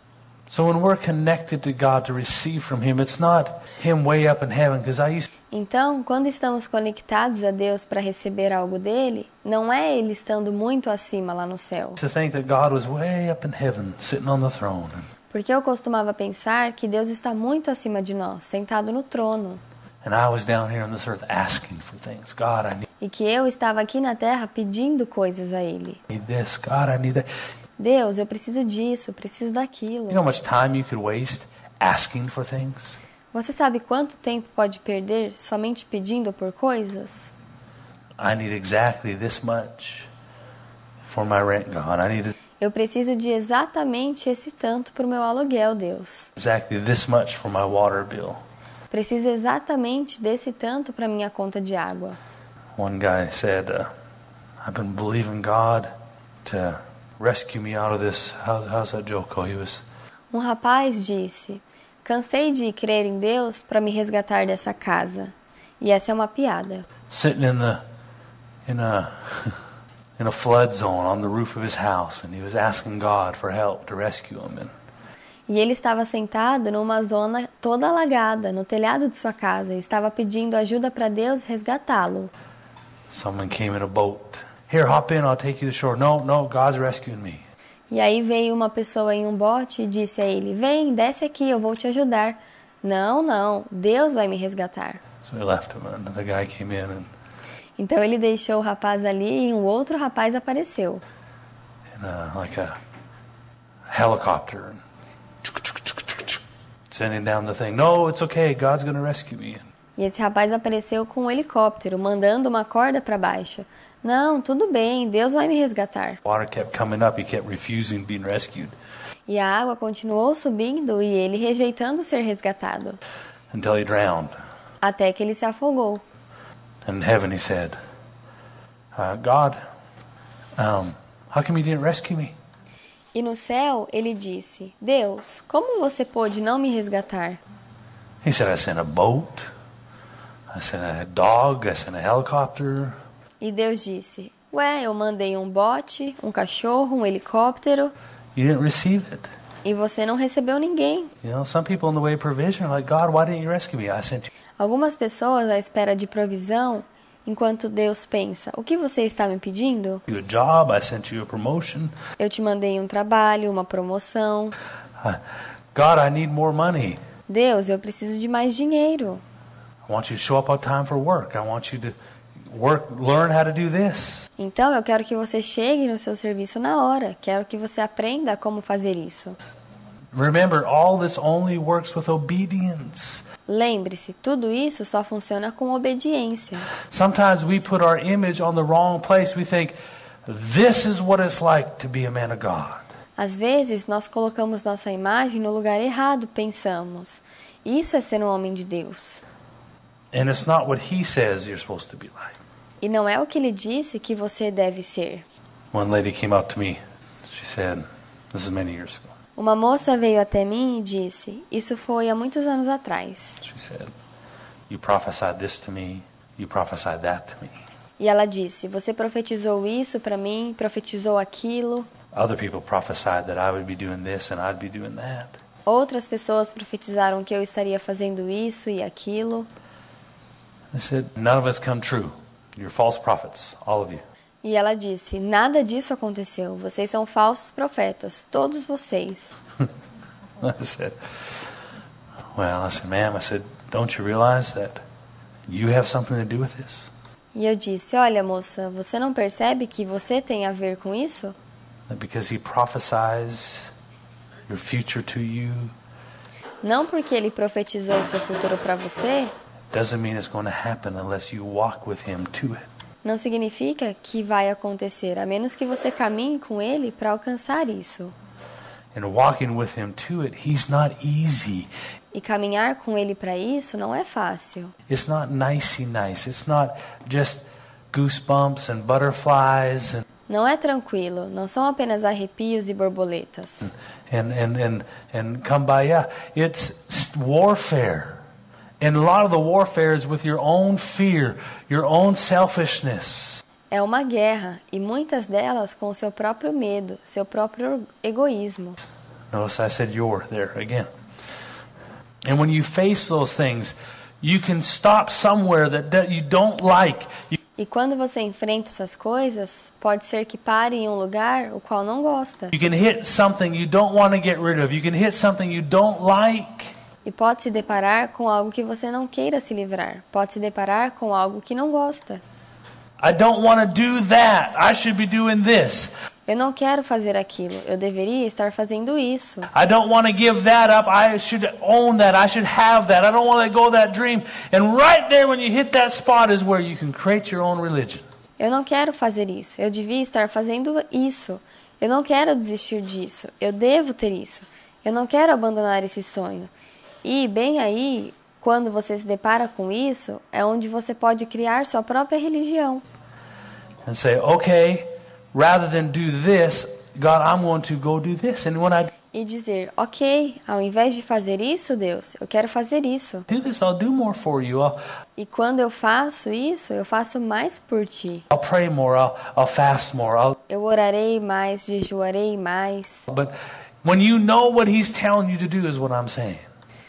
So when we're connected to God to receive from Him, it's not Him way up in heaven, because I used Então, quando estamos conectados a Deus para receber algo dele, não é ele estando muito acima lá no céu. to think that God was way up in heaven, sitting on the throne. Porque eu costumava pensar que Deus está muito acima de nós, sentado no trono, And I was down here on this earth asking for things. God, I e que eu estava aqui na terra pedindo coisas a ele. need this. God, I need that. Deus, eu preciso disso, preciso daquilo. You know how much time you could waste asking for things? Você sabe quanto tempo pode perder somente pedindo por coisas? I need exactly this much for my rent, God. I need Eu preciso de exatamente esse tanto para o meu aluguel, Deus. exactly this much for my water bill. Preciso exatamente desse tanto para minha conta de água. One guy said, I've been believing God to rescue me out of this. How's that joke go? He was Um rapaz disse: cansei de crer em Deus para me resgatar dessa casa. E essa é uma piada. sitting in a flood zone on the roof of his house, and he was asking God for help to rescue him. And E ele estava sentado numa zona toda alagada, no telhado de sua casa, e estava pedindo ajuda para Deus resgatá-lo. someone came in a boat. Here, hop in, I'll take you to shore. No, God's rescuing me. E aí veio uma pessoa em um bote e disse a ele: vem, desce aqui, eu vou te ajudar. Não, Deus vai me resgatar. So he left him, and the guy came in, and Então ele deixou o rapaz ali e um outro rapaz apareceu. like a helicopter, and sending down the thing. No, it's okay. God's going to rescue me. E esse rapaz apareceu com um helicóptero, mandando uma corda para baixo. Não, tudo bem, Deus vai me resgatar. Water kept coming up. He kept refusing being rescued E a água continuou subindo e ele rejeitando ser resgatado, until he drowned. até que ele se afogou. In heaven, he said, God, how come you didn't rescue me? E no céu ele disse: Deus, como você pôde não me resgatar? He said, I sent a boat, I sent a dog, I sent a helicopter. E Deus disse: ué, eu mandei um bote, um cachorro, um helicóptero, You didn't receive it. e você não recebeu ninguém. You know, some people in the way of provision are like, God, why didn't you rescue me? I sent you. Algumas pessoas à espera de provisão, enquanto Deus pensa: o que você está me pedindo? A job, I sent you a promotion. Eu te mandei um trabalho, uma promoção. God, I need more money. Deus, eu preciso de mais dinheiro. I want you to show up on time for work. I want you to learn how to do this. Então eu quero que você chegue no seu serviço na hora. Quero que você aprenda como fazer isso. Remember, all this only works with obedience. Lembre-se, tudo isso só funciona com obediência. Sometimes we put our image on the wrong place. We think, this is what it's like to be a man of God. Às vezes nós colocamos nossa imagem no lugar errado, pensamos: isso é ser um homem de Deus. And it's not what he says you're supposed to be like. E não é o que ele disse que você deve ser. One lady came up to me. She said, this is many years ago. Uma moça veio até mim e disse: isso foi há muitos anos atrás. She said, you prophesied this to me, you prophesied that to me. E ela disse: você profetizou isso para mim, profetizou aquilo. Other people prophesied that I would be doing this and I'd be doing that. Outras pessoas profetizaram que eu estaria fazendo isso e aquilo. I said, none of us come true. You're false prophets, all of you. E ela disse: nada disso aconteceu. Vocês são falsos profetas, todos vocês. I said, ma'am, I said, don't you realize that you have something to do with this? E eu disse: olha, moça, você não percebe que você tem a ver com isso? That because he prophesies your future to you, Não porque ele profetizou o seu futuro para você, doesn't mean it's going to happen unless you walk with him to it. não significa que vai acontecer, a menos que você caminhe com ele para alcançar isso. And walking with him to it, he's not easy. E caminhar com ele para isso não é fácil. It's not nicey nice. It's not just goosebumps and butterflies Não é tranquilo, não são apenas arrepios e borboletas. and come by. Yeah, it's warfare. And a lot of the warfare is with your own fear, your own selfishness. É uma guerra, e muitas delas com o seu próprio medo, seu próprio egoísmo. Notice I said your there again. And when you face those things, you can stop somewhere that you don't like. E quando você enfrenta essas coisas, pode ser que pare em um lugar o qual não gosta. You can hit something you don't want to get rid of. You can hit something you don't like. E pode se deparar com algo que você não queira se livrar. Pode se deparar com algo que não gosta. I don't want to do that. I should be doing this. Eu não quero fazer aquilo. Eu deveria estar fazendo isso. I don't want to give that up. I should own that. I should have that. I don't want to let go of that dream. And right there when you hit that spot is where you can create your own religion. Eu não quero fazer isso. Eu devia estar fazendo isso. Eu não quero desistir disso. Eu devo ter isso. Eu não quero abandonar esse sonho. E bem aí, quando você se depara com isso, é onde você pode criar sua própria religião. And say, okay, rather than do this, God, I'm going to go do this. And when I E dizer, ok, ao invés de fazer isso, Deus, eu quero fazer isso. do this, I'll do more for you. E quando eu faço isso, eu faço mais por ti. I'll pray more. I'll fast more. Eu orarei mais, jejuarei mais. But when you know what He's telling you to do is what I'm saying.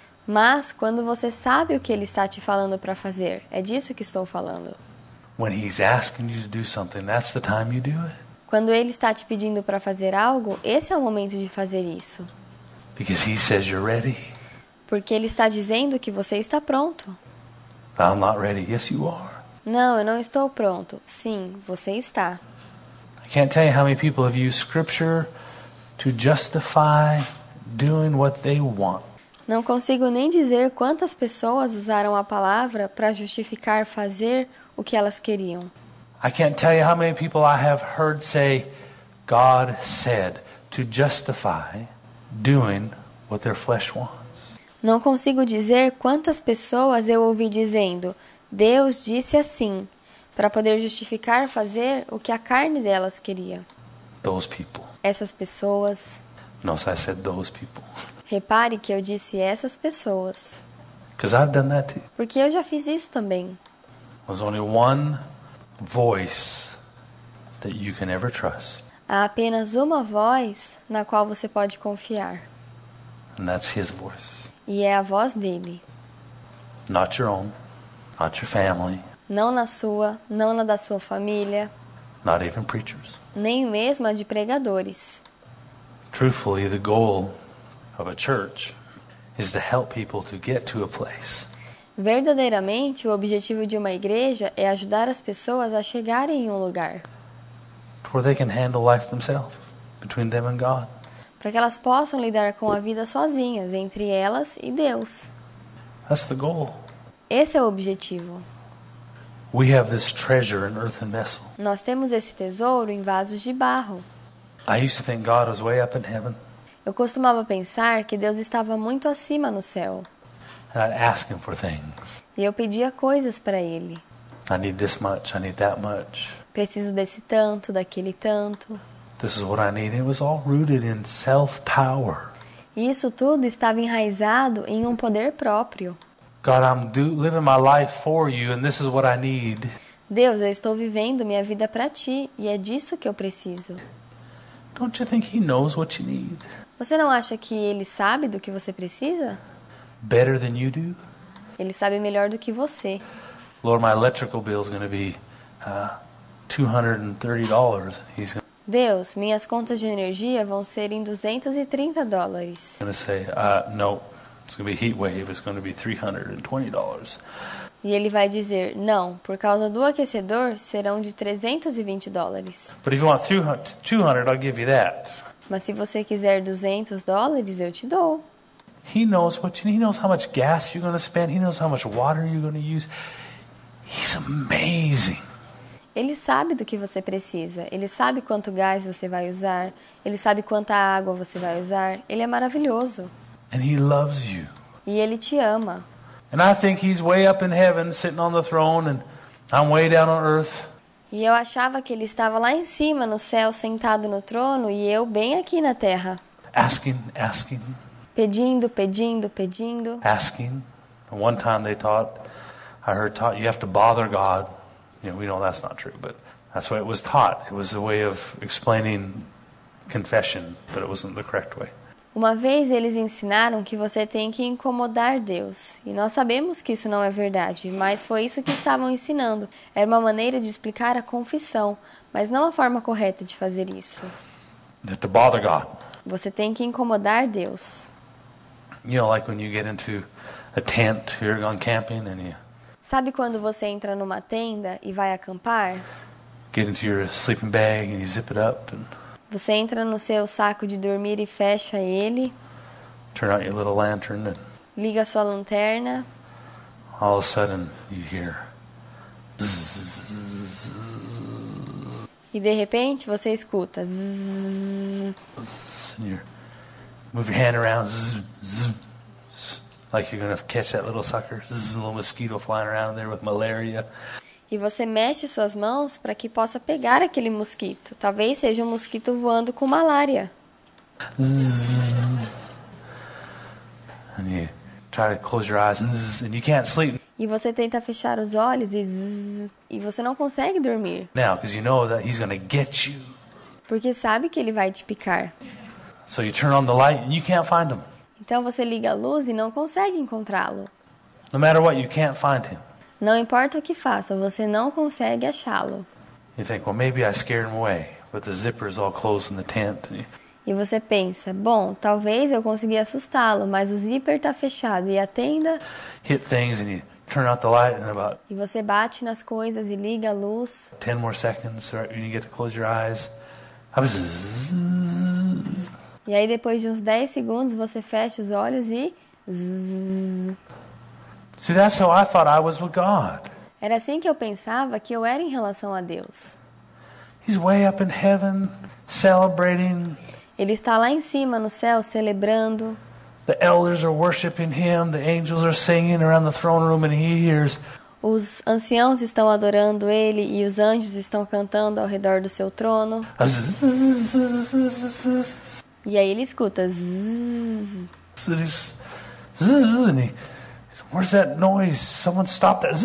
Mas quando você sabe o que Ele está te falando para fazer, é disso que estou falando. When He's asking you to do something, that's the time you do it. Quando Ele está te pedindo para fazer algo, esse é o momento de fazer isso. Because He says you're ready. Porque Ele está dizendo que você está pronto. I'm not ready. Yes, you are. Não, eu não estou pronto. Sim, você está. I can't tell you how many people have used Scripture to justify doing what they want. Não consigo nem dizer quantas pessoas usaram a palavra para justificar fazer o que elas queriam. I can't tell you how many people I have heard say, God said, to justify doing what their flesh wants. Não consigo dizer quantas pessoas eu ouvi dizendo, Deus disse assim, para poder justificar fazer o que a carne delas queria. Those people. Essas pessoas. Notice I said those people. Repare que eu disse essas pessoas. Because I've done that too. Porque eu já fiz isso também. There's only one voice that you can ever trust. Há apenas uma voz na qual você pode confiar. And that's His voice. E é a voz dele. Not your own. Not your family. Não na sua, não na da sua família. Not even preachers. Nem mesmo a de pregadores. Truthfully, the goal of a church is to help people to get to a place Verdadeiramente, o objetivo de uma igreja é ajudar as pessoas a chegarem em um lugar, where they can handle life themselves, between them and God. para que elas possam lidar com a vida sozinhas, entre elas e Deus. That's the goal. Esse é o objetivo. We have this treasure in earthen vessel. Nós temos esse tesouro em vasos de barro. I used to think God was way up in heaven. Eu costumava pensar que Deus estava muito acima no céu. And I'd ask Him for things. E eu pedia coisas para Ele. I need this much. I need that much. Preciso desse tanto, daquele tanto. This is what I need. It was all rooted in self-power. E isso tudo estava enraizado em um poder próprio. God, I'm living my life for you, and this is what I need. Deus, eu estou vivendo minha vida para Ti, e é disso que eu preciso. Don't you think He knows what you need? Você não acha que Ele sabe do que você precisa? Better than you do? Ele sabe melhor do que você. Lord, my electrical bill is going to be $230. He's Deus, minhas contas de energia vão ser em $230. going to say, no, it's going to be heat wave. It's going to be $320. E ele vai dizer, não, por causa do aquecedor serão de $320. But if you want 200, I'll give you that. Mas se você quiser $200, eu te dou. He knows what you need. He knows how much gas you're going to spend. He knows how much water you're going to use. He's amazing. Ele sabe do que você precisa. Ele sabe quanto gás você vai usar. Ele sabe quanta água você vai usar. Ele é maravilhoso. And He loves you. E Ele te ama. And I think He's way up in heaven, sitting on the throne, and I'm way down on earth. E eu achava que Ele estava lá em cima, no céu, sentado no trono, e eu bem aqui na terra. Asking. Pedindo, pedindo, pedindo. Asking. And one time I heard taught, you have to bother God. You know, we know that's not true, but that's the way it was taught. It was a way of explaining confession, but it wasn't the correct way. Uma vez eles ensinaram que você tem que incomodar Deus. E nós sabemos que isso não é verdade, mas foi isso que estavam ensinando. Era uma maneira de explicar a confissão, mas não a forma correta de fazer isso. To bother God. Você tem que incomodar Deus. You know, like when you get into a tent, you're going camping and you Sabe quando você entra numa tenda e vai acampar? get into your sleeping bag and you zip it up and Você entra no seu saco de dormir e fecha ele, turn out your little lantern and liga sua lanterna all of a sudden you hear e de repente você escuta zzz, and you move your hand around like you're going to catch that little sucker, a little mosquito flying around there with malaria. e você mexe suas mãos para que possa pegar aquele mosquito. Talvez seja um mosquito voando com malária. And you try to close your eyes and you can't sleep E você tenta fechar os olhos e zzz, e você não consegue dormir, now because you know that he's going to get you. porque sabe que ele vai te picar. So you turn on the light and you can't find him. Então você liga a luz e não consegue encontrá-lo. No matter what, you can't find him. Não importa o que faça, você não consegue achá-lo. You think, well, maybe I scared him away, but the zipper's all closed in the tent. E você pensa, bom, talvez eu consegui assustá-lo, mas o zíper está fechado e a tenda... Hit things and you turn out the light in about E você bate nas coisas e liga a luz. 10 more seconds right when you get to close your eyes. E aí depois de uns 10 segundos você fecha os olhos e... zzz. See, that's how I thought I was with God. Era assim que eu pensava que eu era em relação a Deus. He's way up in heaven, celebrating. Ele está lá em cima no céu celebrando. The elders are worshiping him. The angels are singing around the throne room and he hears. Os anciãos estão adorando ele e os anjos estão cantando ao redor do seu trono. E aí ele escuta zzz. Where's that noise? Someone stop that.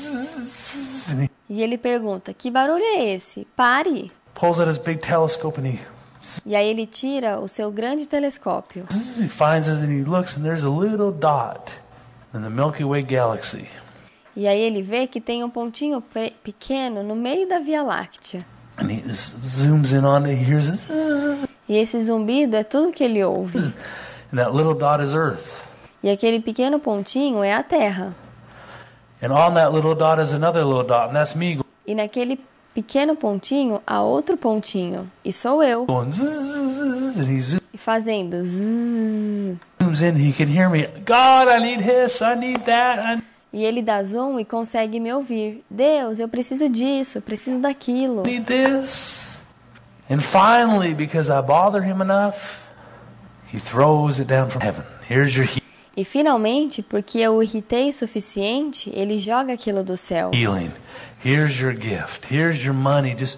E ele pergunta, que barulho é esse? Pare! Pulls out his big telescope and E aí ele tira o seu grande telescópio. he finds us and he looks and there's a little dot in the Milky Way galaxy. E aí ele vê que tem um pontinho pequeno no meio da Via Láctea. And he zooms in on it, he hears it. E esse zumbido é tudo que ele ouve. And that little dot is Earth. E aquele pequeno pontinho é a Terra. And on that little dot is another little dot, and that's me E naquele pequeno pontinho há outro pontinho. E sou eu. going zzz, and he E fazendo zzz. zooms in, he can hear me. God, I need this, I need that, E ele dá zoom e consegue me ouvir. Deus, eu preciso disso, eu preciso daquilo. I need this. And finally, because I bother him enough, he throws it down from heaven. Here's your E finalmente, porque eu o irritei o suficiente, ele joga aquilo do céu. healing. Here's your gift. Here's your money. Just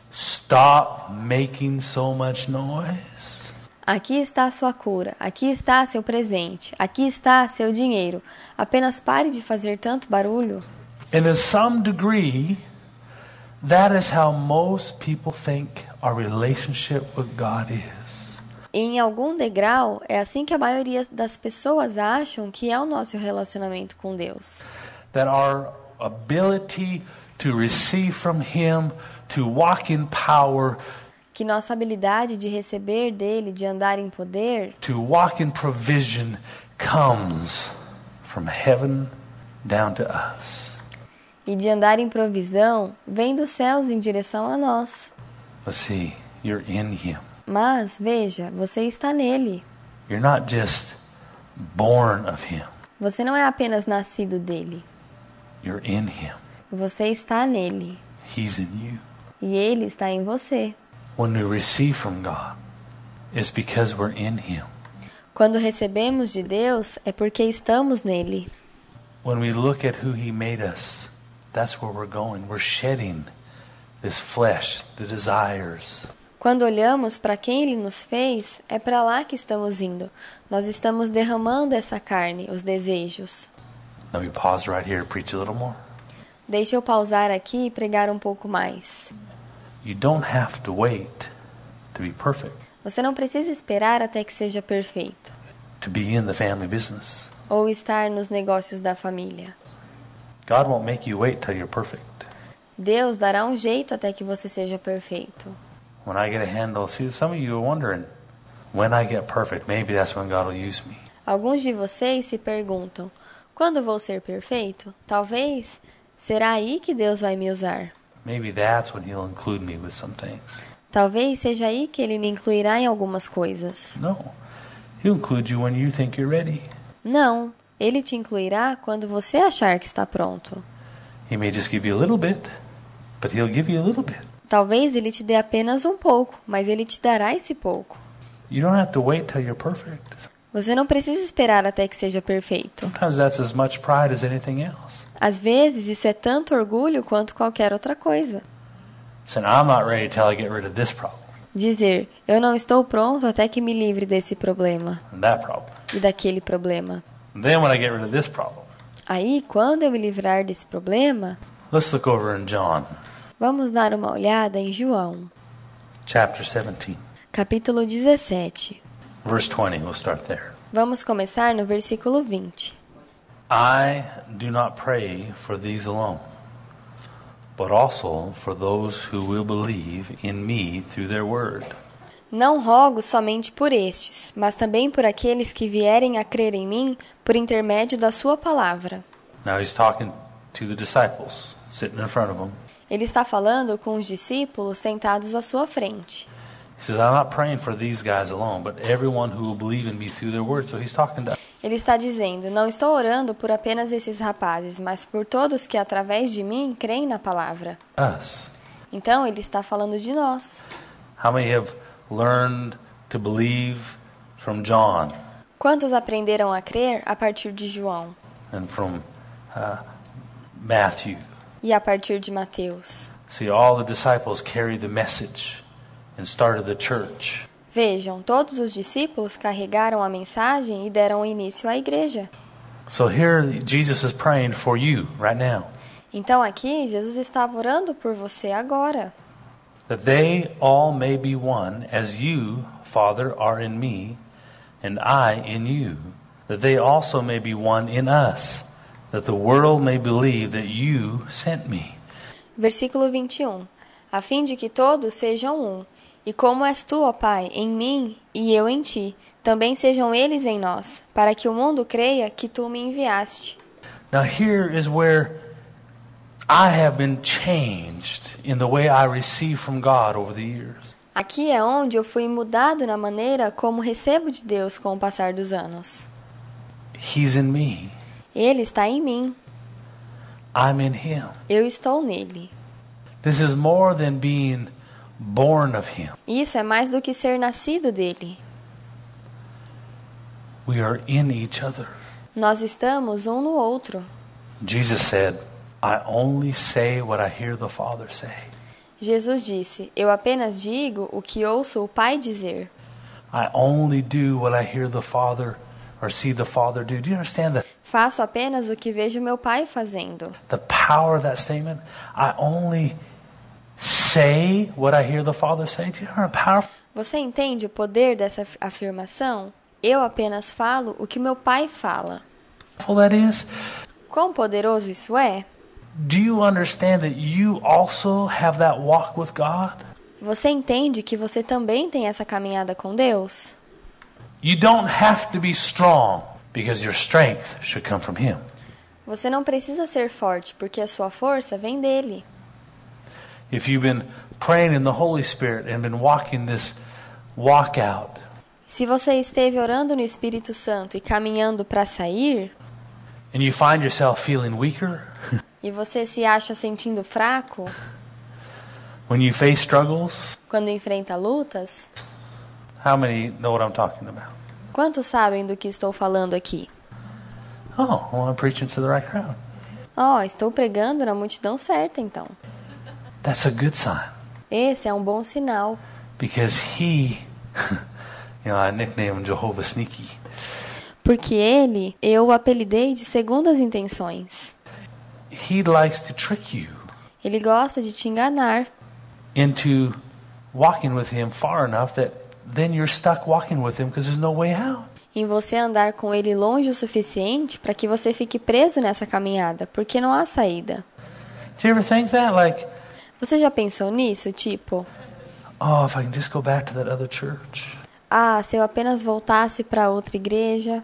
stop making so much noise. Aqui está a sua cura, aqui está seu presente, aqui está seu dinheiro. Apenas pare de fazer tanto barulho. And to some degree, that is how most people think our relationship with God is. E em algum degrau, é assim que a maioria das pessoas acham que é o nosso relacionamento com Deus. That our ability to receive from Him, to walk in power, Que nossa habilidade de receber dele, de andar em poder, to walk in provision comes from heaven down to us. e de andar em provisão, vem dos céus em direção a nós. But see, you're in Him. Mas, veja, você está nele. You're not just born of Him. Você não é apenas nascido dele. You're in Him. Você está nele. He's in you. E ele está em você. When we receive from God, it's because we're in Him. Quando recebemos de Deus, é porque estamos nele. When we look at who He made us, that's where we're going. We're shedding this flesh, the desires. Quando olhamos para quem ele nos fez, é para lá que estamos indo. Nós estamos derramando essa carne, os desejos. Let me pause right here and preach a little more. Deixa eu pausar aqui e pregar um pouco mais. You don't have to wait to be perfect. Você não precisa esperar até que seja perfeito, to be in the family business. ou estar nos negócios da família. God won't make you wait till you're perfect. Deus dará um jeito até que você seja perfeito. When I get a handle, see, some of you are wondering, when I get perfect, maybe that's when God will use me. Alguns de vocês se perguntam, quando vou ser perfeito? Talvez, será aí que Deus vai me usar? Maybe that's when He'll include me with some things. Talvez seja aí que Ele me incluirá em algumas coisas. No, He'll include you when you think you're ready. Não, Ele te incluirá quando você achar que está pronto. He may just give you a little bit, but He'll give you a little bit. Talvez Ele te dê apenas um pouco, mas Ele te dará esse pouco. You don't have to wait till you're perfect. Você não precisa esperar até que seja perfeito. Sometimes that's as much pride as anything else. Às vezes, isso é tanto orgulho quanto qualquer outra coisa. Saying, I'm not ready till I get rid of this problem Dizer, eu não estou pronto até que me livre desse problema and that problem. e daquele problema. And then when I get rid of this problem, Aí, quando eu me livrar desse problema, let's look over in John, vamos dar uma olhada em João, chapter 17, capítulo 17. verse 20. We'll start there. Vamos começar no versículo 20. I do not pray for these alone, but also for those who will believe in me through their word. Não rogo somente por estes, mas também por aqueles que vierem a crer em mim por intermédio da sua palavra. Now he's talking to the disciples sitting in front of him. Ele está falando com os discípulos sentados à sua frente. He says, I'm not praying for these guys alone, but everyone who will believe in me through their word. So he's talking to Ele está dizendo, não estou orando por apenas esses rapazes, mas por todos que através de mim creem na palavra. us. Então ele está falando de nós. How many have learned to believe from John Quantos aprenderam a crer a partir de João and from Matthew? e a partir de Mateus? See, all the disciples carried the message and started the church. Vejam, todos os discípulos carregaram a mensagem e deram início à igreja. So here Jesus is praying for you right now, Então aqui, Jesus estava orando por você agora. that they all may be one, as you, Father, are in me, and I in you, that they also may be one in us, that the world may believe that you sent me. Versículo 21. A fim de que todos sejam um, e como és tu, ó Pai, em mim e eu em ti, também sejam eles em nós, para que o mundo creia que tu me enviaste. Now here is where I have been changed in the way I receive from God over the years. Aqui é onde eu fui mudado na maneira como recebo de Deus com o passar dos anos. He's in me. Ele está em mim, I'm in Him. eu estou nele. This is more than being born of Him. Isso é mais do que ser nascido dele. We are in each other. Nós estamos um no outro. Jesus said, I only say what I hear the Father say. Jesus disse, eu apenas digo o que ouço o Pai dizer. I only do what I hear the Father or see the Father do. Do you understand Faço apenas o que vejo meu Pai fazendo. the power of that statement? I only say what I hear the Father say. Do you know how powerful? Você entende o poder dessa afirmação? Eu apenas falo o que meu Pai fala. That is, Quão poderoso isso é? do you understand that you also have that walk with God? Você entende que você também tem essa caminhada com Deus? You don't have to be strong because your strength should come from Him. Você não precisa ser forte, porque a sua força vem dele. If you've been praying in the Holy Spirit and been walking this walk out, Se você esteve orando no Espírito Santo e caminhando para sair, and you find yourself feeling weaker e você se acha sentindo fraco when you face struggles, quando enfrenta lutas, how many know what I'm talking about? quantos sabem do que estou falando aqui? Oh, well, I'm preaching to the right crowd. Estou pregando na multidão certa então. That's a good sign Esse é um bom sinal, because He, I nicknamed him Jehovah Sneaky. porque ele, eu o apelidei de segundas intenções. He likes to trick you Ele gosta de te enganar, into walking with Him far enough that then you're stuck walking with him because there's no way out. Em você andar com ele longe o suficiente para que você fique preso nessa caminhada, porque não há saída. Do you ever think that? Like, Você já pensou nisso? Tipo, oh, if I can just go back to that other church. se eu apenas voltasse para outra igreja.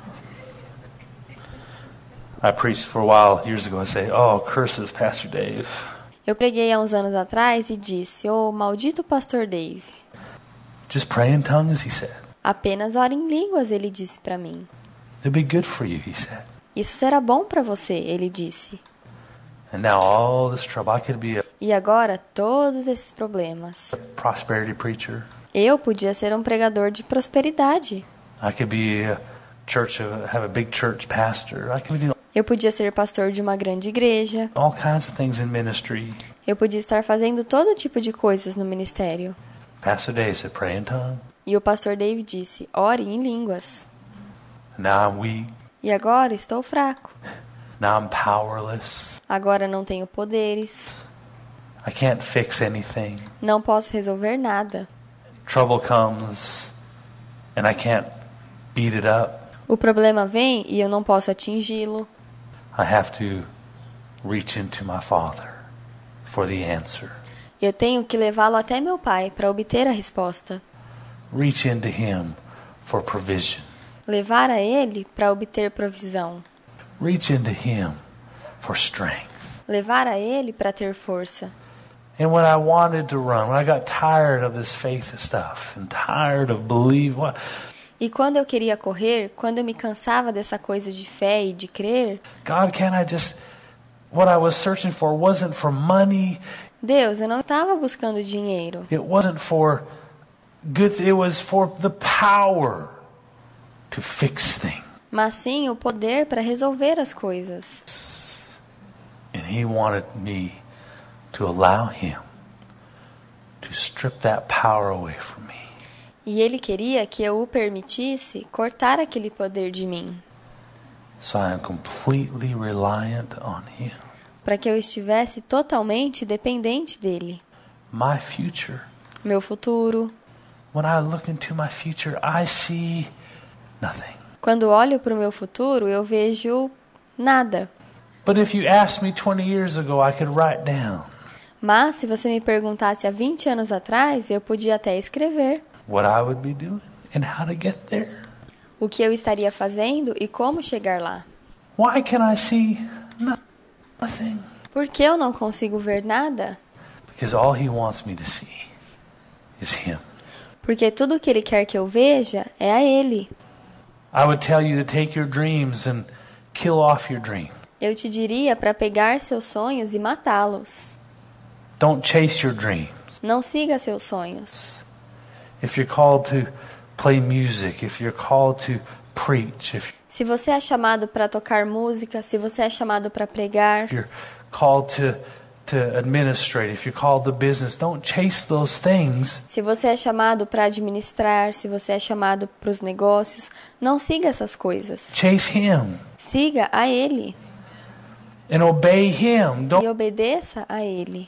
I preached for a while years ago. I say, oh, curses, Pastor Dave. Eu preguei há uns anos atrás e disse, maldito pastor Dave. Just pray in tongues, he said. Apenas ore em línguas, ele disse para mim. It'll be good for you, he said. Isso será bom para você, ele disse. And now all this trouble, I could be a E agora, todos esses problemas. prosperity preacher. Eu podia ser um pregador de prosperidade. I could be a church, have a big church pastor. I could be doing Eu podia ser pastor de uma grande igreja. all kinds of things in ministry. Eu podia estar fazendo todo tipo de coisas no ministério. Pastor Dave said, pray in tongues. E o pastor Dave disse, ore em línguas. Now I'm weak. E agora estou fraco. Now I'm powerless. Agora não tenho poderes. I can't fix anything. Não posso resolver nada. Trouble comes and I can't beat it up. O problema vem e eu não posso atingi-lo. I have to reach into my Father for the answer. Eu tenho que levá-lo até meu pai para obter a resposta. Reach into Him for provision. Levar a ele para obter provisão. Reach into Him for strength. Levar a ele para ter força. And when I wanted to run, when I got tired of this faith stuff and tired of believing, E quando eu queria correr, quando eu me cansava dessa coisa de fé e de crer, God, can't I just, what I was searching for wasn't for money. Deus, eu não estava buscando dinheiro. It wasn't for good, it was for the power to fix things. Mas sim o poder para resolver as coisas. And He wanted me to allow Him to strip that power away from me. E ele queria que eu o permitisse cortar aquele poder de mim, So I am completely reliant on Him. para que eu estivesse totalmente dependente dele. My future. Meu futuro. When I look into my future, I see nothing. Quando olho para o meu futuro, eu vejo nada. But if you asked me 20 years ago, I could write down Mas se você me perguntasse há 20 anos atrás, eu podia até escrever what I would be doing and how to get there. o que eu estaria fazendo e como chegar lá. Why can I see nothing? Por que eu não consigo ver nada? Because all He wants me to see is Him. Porque tudo o que ele quer que eu veja é a ele. I would tell you to take your dreams and kill off your dream. Eu te diria para pegar seus sonhos e matá-los. Don't chase your dreams. Não siga seus sonhos. If you're called to play music, if you're called to preach, if Se você é chamado para tocar música, se você é chamado para pregar, you're called to administrate, if you're called to business, don't chase those things. se você é chamado para administrar, se você é chamado para os negócios, não siga essas coisas. Chase Him Siga a ele and obey Him. e obedeça a ele.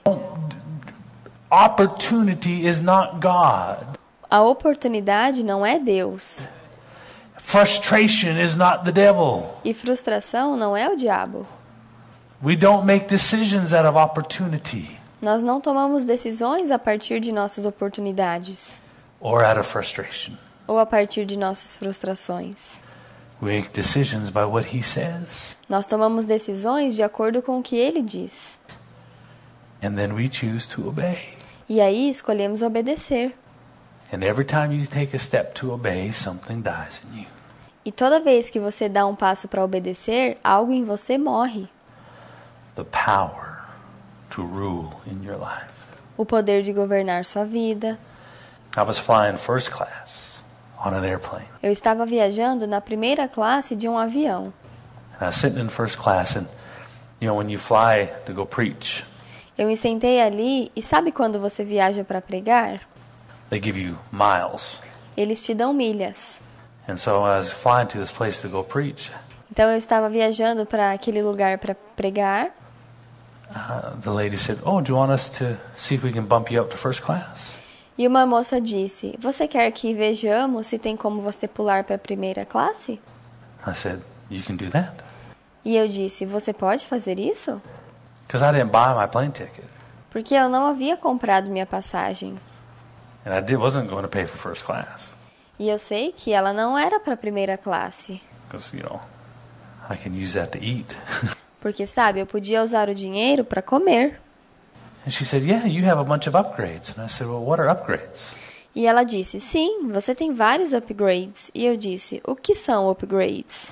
Opportunity is not God. A oportunidade não é Deus. Frustration is not the devil. E frustração não é o diabo. We don't make decisions out of opportunity Nós não tomamos decisões a partir de nossas oportunidades or out of frustration. ou a partir de nossas frustrações. We make decisions by what He says. Nós tomamos decisões de acordo com o que ele diz. And then we choose to obey. E aí escolhemos obedecer. And every time you take a step to obey, something dies in you. E toda vez que você dá um passo para obedecer, algo em você morre. The power to rule in your life. O poder de governar sua vida. I was flying first class on an airplane. Eu estava viajando na primeira classe de um avião. And I was sitting in first class, and you know, when you fly to go preach, Eu me sentei ali e sabe quando você viaja para pregar? they give you miles. Eles te dão milhas. And so I was flying to this place to go preach. Então eu estava viajando para aquele lugar para pregar. The lady said, "Oh, do you want us to see if we can bump you up to first class?" E uma moça disse, você quer que vejamos se tem como você pular para a primeira classe? I said, you can do that. E eu disse, você pode fazer isso? Because I didn't buy my plane ticket. Porque eu não havia comprado minha passagem. And wasn't going to pay for first class. E eu sei que ela não era para a primeira classe. Because, I can use that to eat. Porque, sabe, eu podia usar o dinheiro para comer. And she said, yeah, you have a bunch of upgrades. And I said, well, what are upgrades? E ela disse, sim, você tem vários upgrades. E eu disse, o que são upgrades?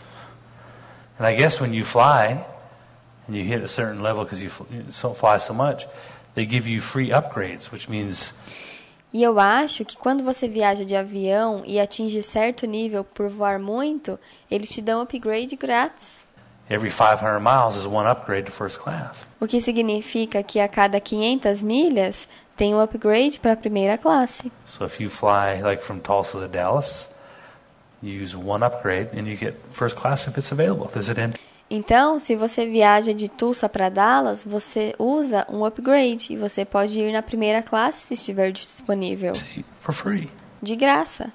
And I guess when you fly, and you hit a certain level because you fly so much, they give you free upgrades, which means... E eu acho que quando você viaja de avião e atinge certo nível por voar muito, eles te dão upgrade grátis. Every 500 miles is one upgrade to first class. O que significa que a cada 500 milhas tem um upgrade para a primeira classe. So if you fly like from Tulsa to Dallas, you use one upgrade and you get first class if it's available. If there's an empty. Então, se você viaja de Tulsa para Dallas, você usa um upgrade e você pode ir na primeira classe se estiver disponível. For free. De graça.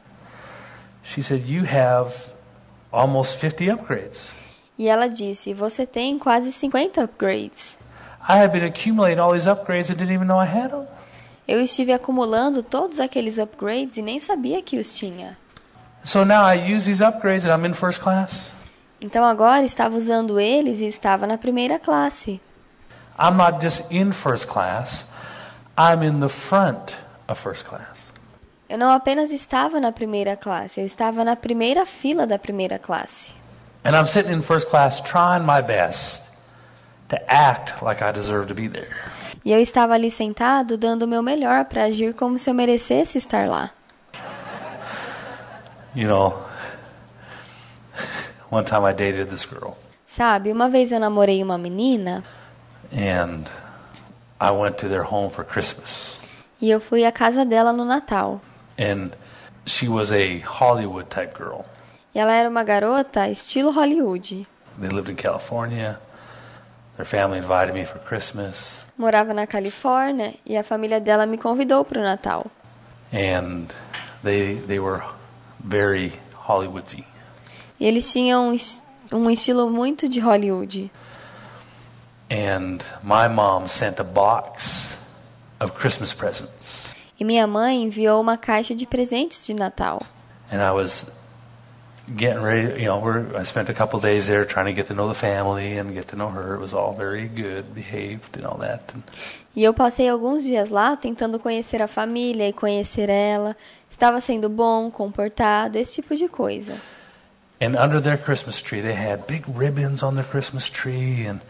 She said, you have almost 50 upgrades. E ela disse, você tem quase 50 upgrades. I have been accumulating all these upgrades and didn't even know I had them. Eu estive acumulando todos aqueles upgrades e nem sabia que os tinha. So now I use these upgrades and I'm in first class. Então agora estava usando eles e estava na primeira classe. I'm not just in first class, I'm in the front of first class. Eu não apenas estava na primeira classe, eu estava na primeira fila da primeira classe. And I'm sitting in first class trying my best to act like I deserve to be there. E eu estava ali sentado dando o meu melhor para agir como se eu merecesse estar lá. One time I dated this girl. Sabe, uma vez eu namorei uma menina. And I went to their home for Christmas. E eu fui à casa dela no Natal. And she was a Hollywood type girl. E ela era uma garota estilo Hollywood. They lived in California. Their family invited me for Christmas. Morava na Califórnia e a família dela me convidou para o Natal. And they were very Hollywoody. E eles tinham um estilo muito de Hollywood. And my mom sent a box of Christmas presents. E minha mãe enviou uma caixa de presentes de Natal. And I was getting ready, I spent a couple days there trying to get to know the family and get to know her. It was all very good, behaved and all that. E eu passei alguns dias lá tentando conhecer a família e conhecer ela. Estava sendo bom, comportado, esse tipo de coisa. And under their Christmas tree, they had big ribbons on their Christmas tree and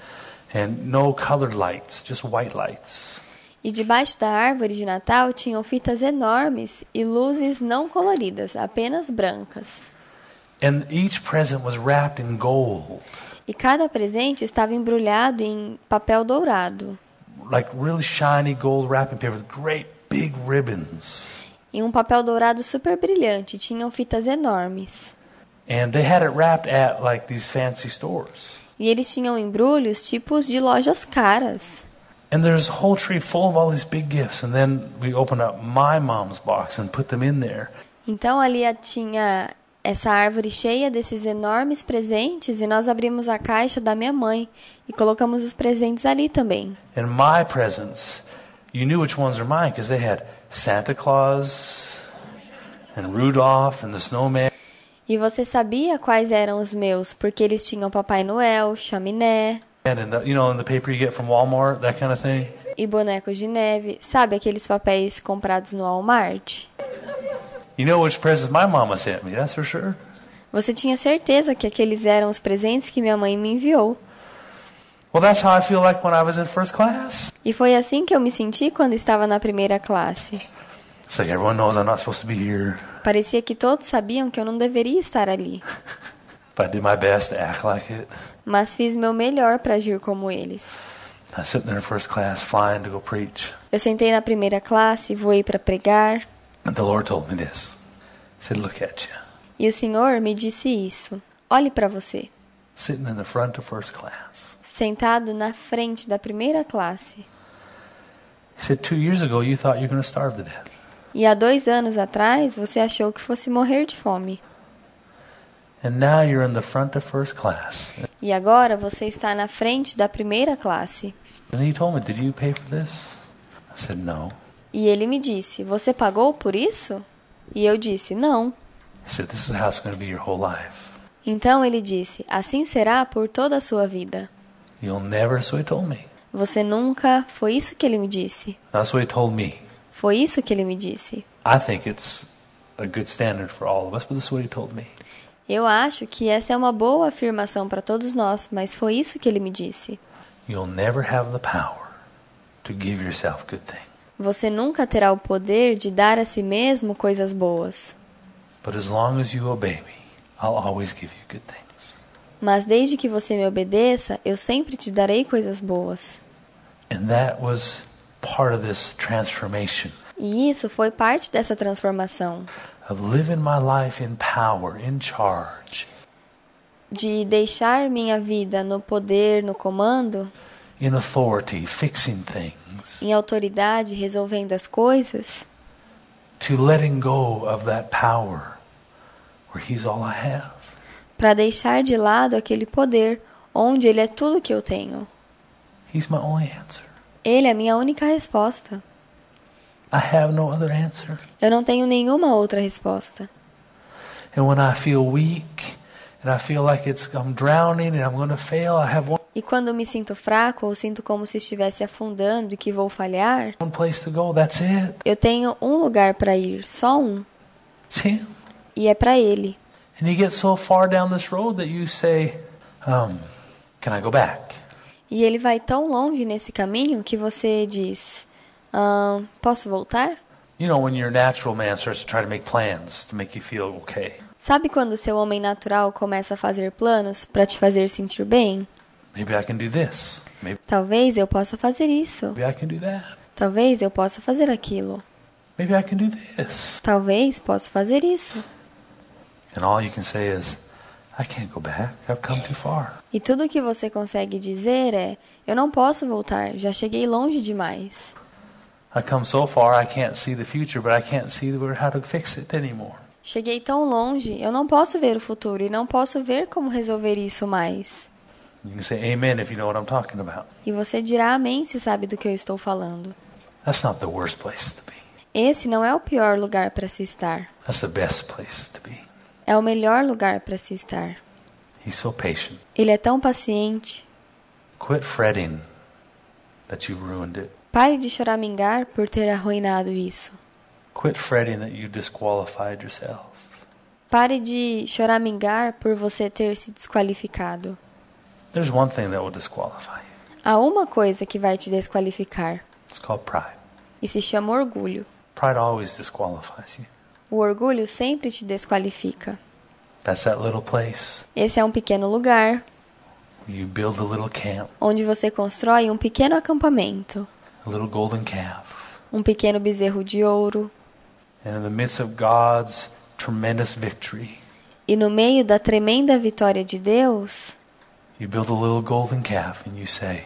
no colored lights, just white lights. E debaixo da árvore de Natal tinham fitas enormes e luzes não coloridas, apenas brancas. And each present was wrapped in gold. E cada presente estava embrulhado em papel dourado. Like really shiny gold wrapping paper with great big ribbons. Em um papel dourado super brilhante, tinham fitas enormes. And they had it wrapped at like these fancy stores. E eles tinham embrulhos tipos de lojas caras. And there's a whole tree full of all these big gifts. And then we opened up my mom's box and put them in there. Então ali tinha essa árvore cheia desses enormes presentes e nós abrimos a caixa da minha mãe e colocamos os presentes ali também. And my presents, you knew which ones were mine because they had Santa Claus and Rudolph and the snowman. E você sabia quais eram os meus, porque eles tinham Papai Noel, chaminé. And in the paper you get from Walmart, that kind of thing. E bonecos de neve. Sabe aqueles papéis comprados no Walmart? You know which presents my mama sent me, that's for sure. Você tinha certeza que aqueles eram os presentes que minha mãe me enviou. Well, that's how I feel like when I was in first class. E foi assim que eu me senti quando estava na primeira classe. It's like everyone knows I'm not supposed to be here. Parecia que todos sabiam que eu não deveria estar ali. But I did my best to act like it. Mas fiz meu melhor para agir como eles. I was sitting there in first class flying to go preach. Eu sentei na primeira classe, voei para pregar. And the Lord told me this. He said, look at you. E o Senhor me disse isso. Olhe para você. Sitting in the front of first class. Sentado na frente da primeira classe. He said, 2 years ago you thought you were going to starve to death. E há 2 anos atrás, você achou que fosse morrer de fome. And now you're in the front of first class. E agora você está na frente da primeira classe. And he told me, did you pay for this? I said, no. E ele me disse, você pagou por isso? E eu disse, não. He said, this is how it's going to be your whole life. Então ele disse, assim será por toda a sua vida. You'll never, that's what he told me. Você nunca... Foi isso que ele me disse. That's what he told me. Foi isso que ele me disse. I think it's a good standard for all of us, but this is what he told me. Eu acho que essa é uma boa afirmação para todos nós, mas foi isso que ele me disse. You'll never have the power to give yourself good things. Você nunca terá o poder de dar a si mesmo coisas boas. But as long as you obey me, I'll always give you good things. Mas desde que você me obedeça, eu sempre te darei coisas boas. And that was part of this transformation. E isso foi parte dessa transformação. Of living my life in power, in charge. De deixar minha vida no poder, no comando, In authority, fixing things. em autoridade, resolvendo as coisas, To letting go of that power where he's all I have. para deixar de lado aquele poder onde ele é tudo que eu tenho. He's my only answer. Ele é a minha única resposta. I have no other answer. Eu não tenho nenhuma outra resposta. And when I feel weak and I feel like I'm drowning and I'm going to fail, I have E quando me sinto fraco ou sinto como se estivesse afundando e que vou falhar, one place to go. That's it. eu tenho um lugar para ir, só um, It's him. e é para ele. And you get so far down this road that you say, can I go back? E ele vai tão longe nesse caminho que você diz, posso voltar? You know, when your natural man starts to try to make plans to make you feel okay. Sabe quando o seu homem natural começa a fazer planos para te fazer sentir bem? Maybe I can do this. Talvez eu possa fazer isso. Maybe I can do that. Talvez eu possa fazer aquilo. Maybe I can do this. Talvez possa fazer isso. And all you can say is, I can't go back. I've come too far. E tudo o que você consegue dizer é, eu não posso voltar, já cheguei longe demais. I come so far I can't see the future, but I can't see how to fix it anymore. Cheguei tão longe, eu não posso ver o futuro e não posso ver como resolver isso mais. You can say amen if you know what I'm talking about. E você dirá amém se sabe do que eu estou falando. That's not the worst place to be. Esse não é o pior lugar para se estar. That's the best place to be. É o melhor lugar para se estar. He's so patient. Ele é tão paciente. Quit fretting that you've ruined it. Pare de choramingar por ter arruinado isso. Quit fretting that you disqualified yourself. Pare de choramingar por você ter se desqualificado. There's one thing that will disqualify you. Há uma coisa que vai te desqualificar. It's called pride. E se chama orgulho. Pride always disqualifies you. O orgulho sempre te desqualifica. That's that little place Esse é um pequeno lugar where you build a little camp, onde você constrói um pequeno acampamento, a little golden calf. um pequeno bezerro de ouro, And in the midst of God's tremendous victory, e no meio da tremenda vitória de Deus, you build a little golden calf and you say,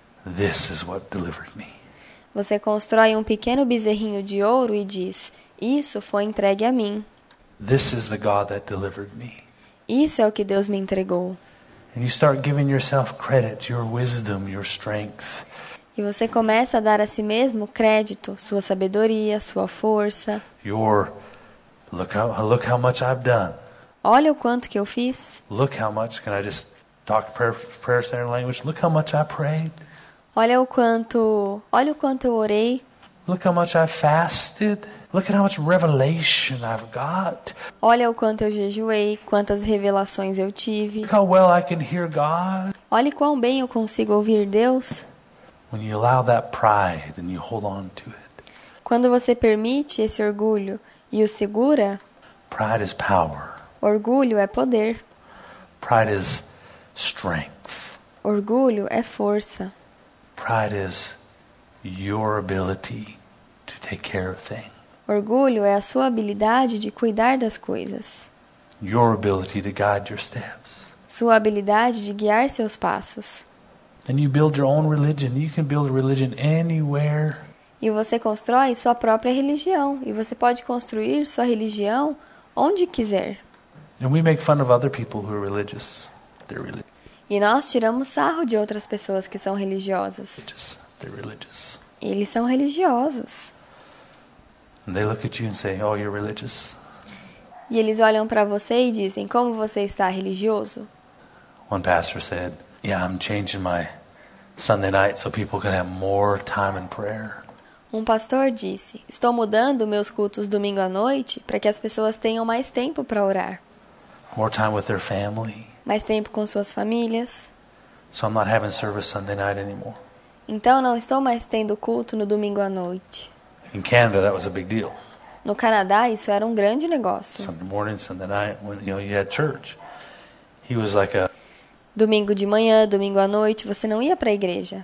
this is what delivered me. você constrói um pequeno bezerrinho de ouro e diz, isso foi entregue a mim. This is the God that delivered me. Isso é o que Deus me entregou. And you start giving yourself credit, your wisdom, your strength. E você começa a dar a si mesmo crédito, sua sabedoria, sua força. Look how much I've done. Olha o quanto que eu fiz. Look how much, can I just talk prayer center language? Look how much I prayed. Olha o quanto eu orei. Look how much I fasted. Look at how much revelation I've got. Olha o quanto eu jejuei, quantas revelações eu tive. Look how well I can hear God. Olhe quão bem eu consigo ouvir Deus. When you allow that pride and you hold on to it. Quando você permite esse orgulho e o segura, Pride is power. orgulho é poder. Pride is strength. Orgulho é força. Pride is your ability to take care of things. Orgulho é a sua habilidade de cuidar das coisas. Your ability to guide your steps. Sua habilidade de guiar seus passos. And you build your own religion. You can build a religion anywhere. E você constrói sua própria religião. E você pode construir sua religião onde quiser. And we make fun of other people who are religious. They're religious. E nós tiramos sarro de outras pessoas que são religiosas. They're religious. Eles são religiosos. And they look at you and say, oh, you're religious. E eles olham para você e dizem, como você está religioso? One pastor said, yeah, I'm changing my Sunday night so people can have more time in prayer. Um pastor disse, estou mudando meus cultos domingo à noite para que as pessoas tenham mais tempo para orar. More time with their family. Mais tempo com suas famílias. So I'm not having service Sunday night anymore. Então não estou mais tendo culto no domingo à noite. In Canada, that was a big deal. No Canadá, isso era um grande negócio. Sunday morning, Sunday night, when you had church. He was like a Domingo de manhã, domingo à noite, você não ia para a igreja.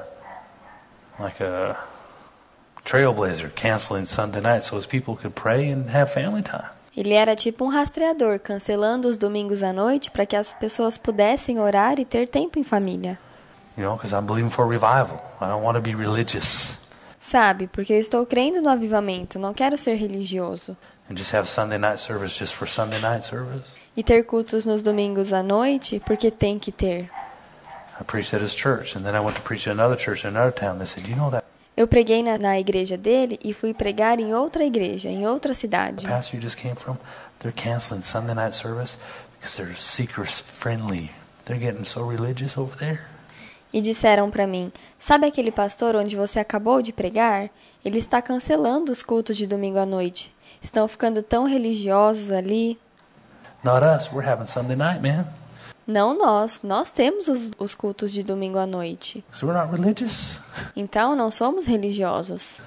Trailblazer, canceling Sunday night so as people could pray and have family time. Ele era tipo um rastreador, cancelando os domingos à noite para que as pessoas pudessem orar e ter tempo em família. Because I'm believing for revival. I don't want to be religious. Sabe, porque eu estou crendo no avivamento, não quero ser religioso. And just have Sunday night service just for Sunday night service. E ter cultos nos domingos à noite, porque tem que ter. I preached at his church, and then I went to preach at another church in another town. They said, you know that Eu preguei na igreja dele e fui pregar em outra igreja, em outra cidade. the pastor you just came from, they're canceling Sunday night service because they're seeker friendly. They're getting so religious over there. E disseram para mim, sabe aquele pastor onde você acabou de pregar? Ele está cancelando os cultos de domingo à noite. Estão ficando tão religiosos ali. Not us. We're having Sunday night, man. Não nós temos os cultos de domingo à noite. So we're not religious. Então não somos religiosos.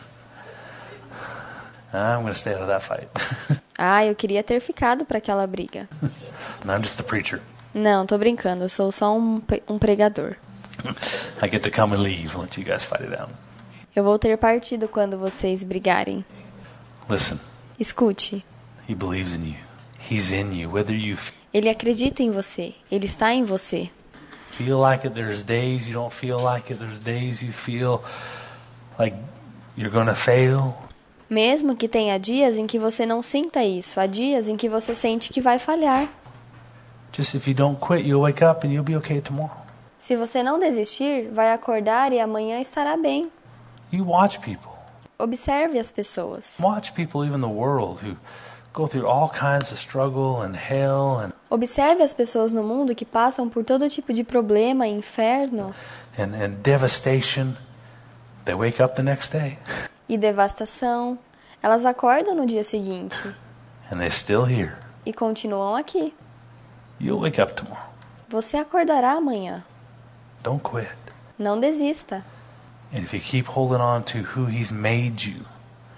I'm going to stay out of that fight. Eu queria ter ficado para aquela briga. I'm just a preacher. Não, tô brincando, eu sou só um pregador. I get to come and leave and let you guys fight it out. Eu vou ter partido quando vocês brigarem. Listen, Escute. he believes in you. He's in you. Whether you Ele acredita em você. Ele está em você. feel like it, there's days you don't feel like it. There's days you feel like you're going to fail. Mesmo que tenha dias em que você não sinta isso, há dias em que você sente que vai falhar. Just if you don't quit, you'll wake up and you'll be okay tomorrow. Se você não desistir, vai acordar e amanhã estará bem. You watch people. Observe as pessoas. Watch people, even the world, who go through all kinds of struggle and hell and Observe as pessoas no mundo que passam por todo tipo de problema, inferno devastation. They wake up the next day e devastação. Elas acordam no dia seguinte and they're still here. e continuam aqui. You'll wake up tomorrow. Você acordará amanhã. Don't quit. Não desista. And if you keep holding on to who He's made you,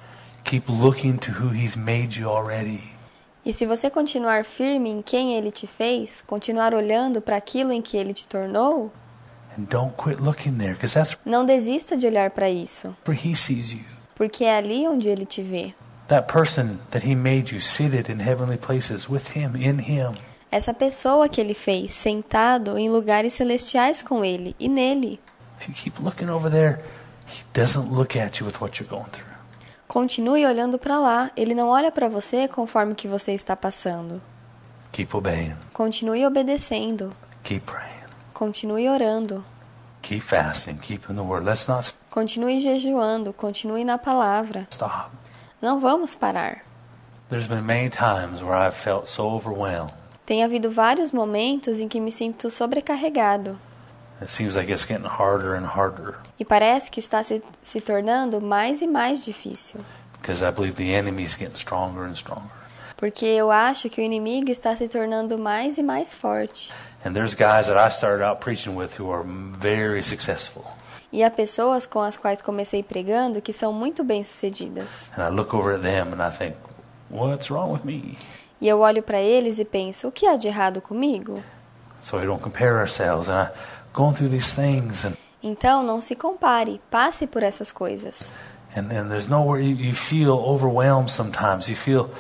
keep looking to who He's made you already. E se você continuar firme em quem Ele te fez, continuar olhando para aquilo em que Ele te tornou, And don't quit looking there, because that's não desista de olhar para isso, where He sees you. porque é ali onde Ele te vê. That person that He made you seated in heavenly places with Him, in Him. Essa pessoa que Ele fez, sentado em lugares celestiais com Ele e nele. If you keep looking over there, He doesn't look at you with what you're going through. Continue olhando para lá. Ele não olha para você conforme o que você está passando. Keep obeying. Continue obedecendo. Keep praying. Continue orando. Keep fasting. Keep in the Word. Let's not Continue jejuando. Continue na palavra. stop. Não vamos parar. There's been many times where I've felt so overwhelmed. Tem havido vários momentos em que me sinto sobrecarregado. It seems like it's getting harder and harder E parece que está se tornando mais e mais difícil. because I believe the enemy's getting stronger and stronger. Porque eu acho que o inimigo está se tornando mais e mais forte. And there's guys that I started out preaching with who are very successful. E há pessoas com as quais comecei pregando que são muito bem-sucedidas. And I look over at them and I think, what's wrong with me? E eu olho para eles e penso, o que há de errado comigo? So we don't compare ourselves. And I'm going through these things and Então, não se compare, passe por essas coisas. there's nowhere you feel overwhelmed sometimes. You feel,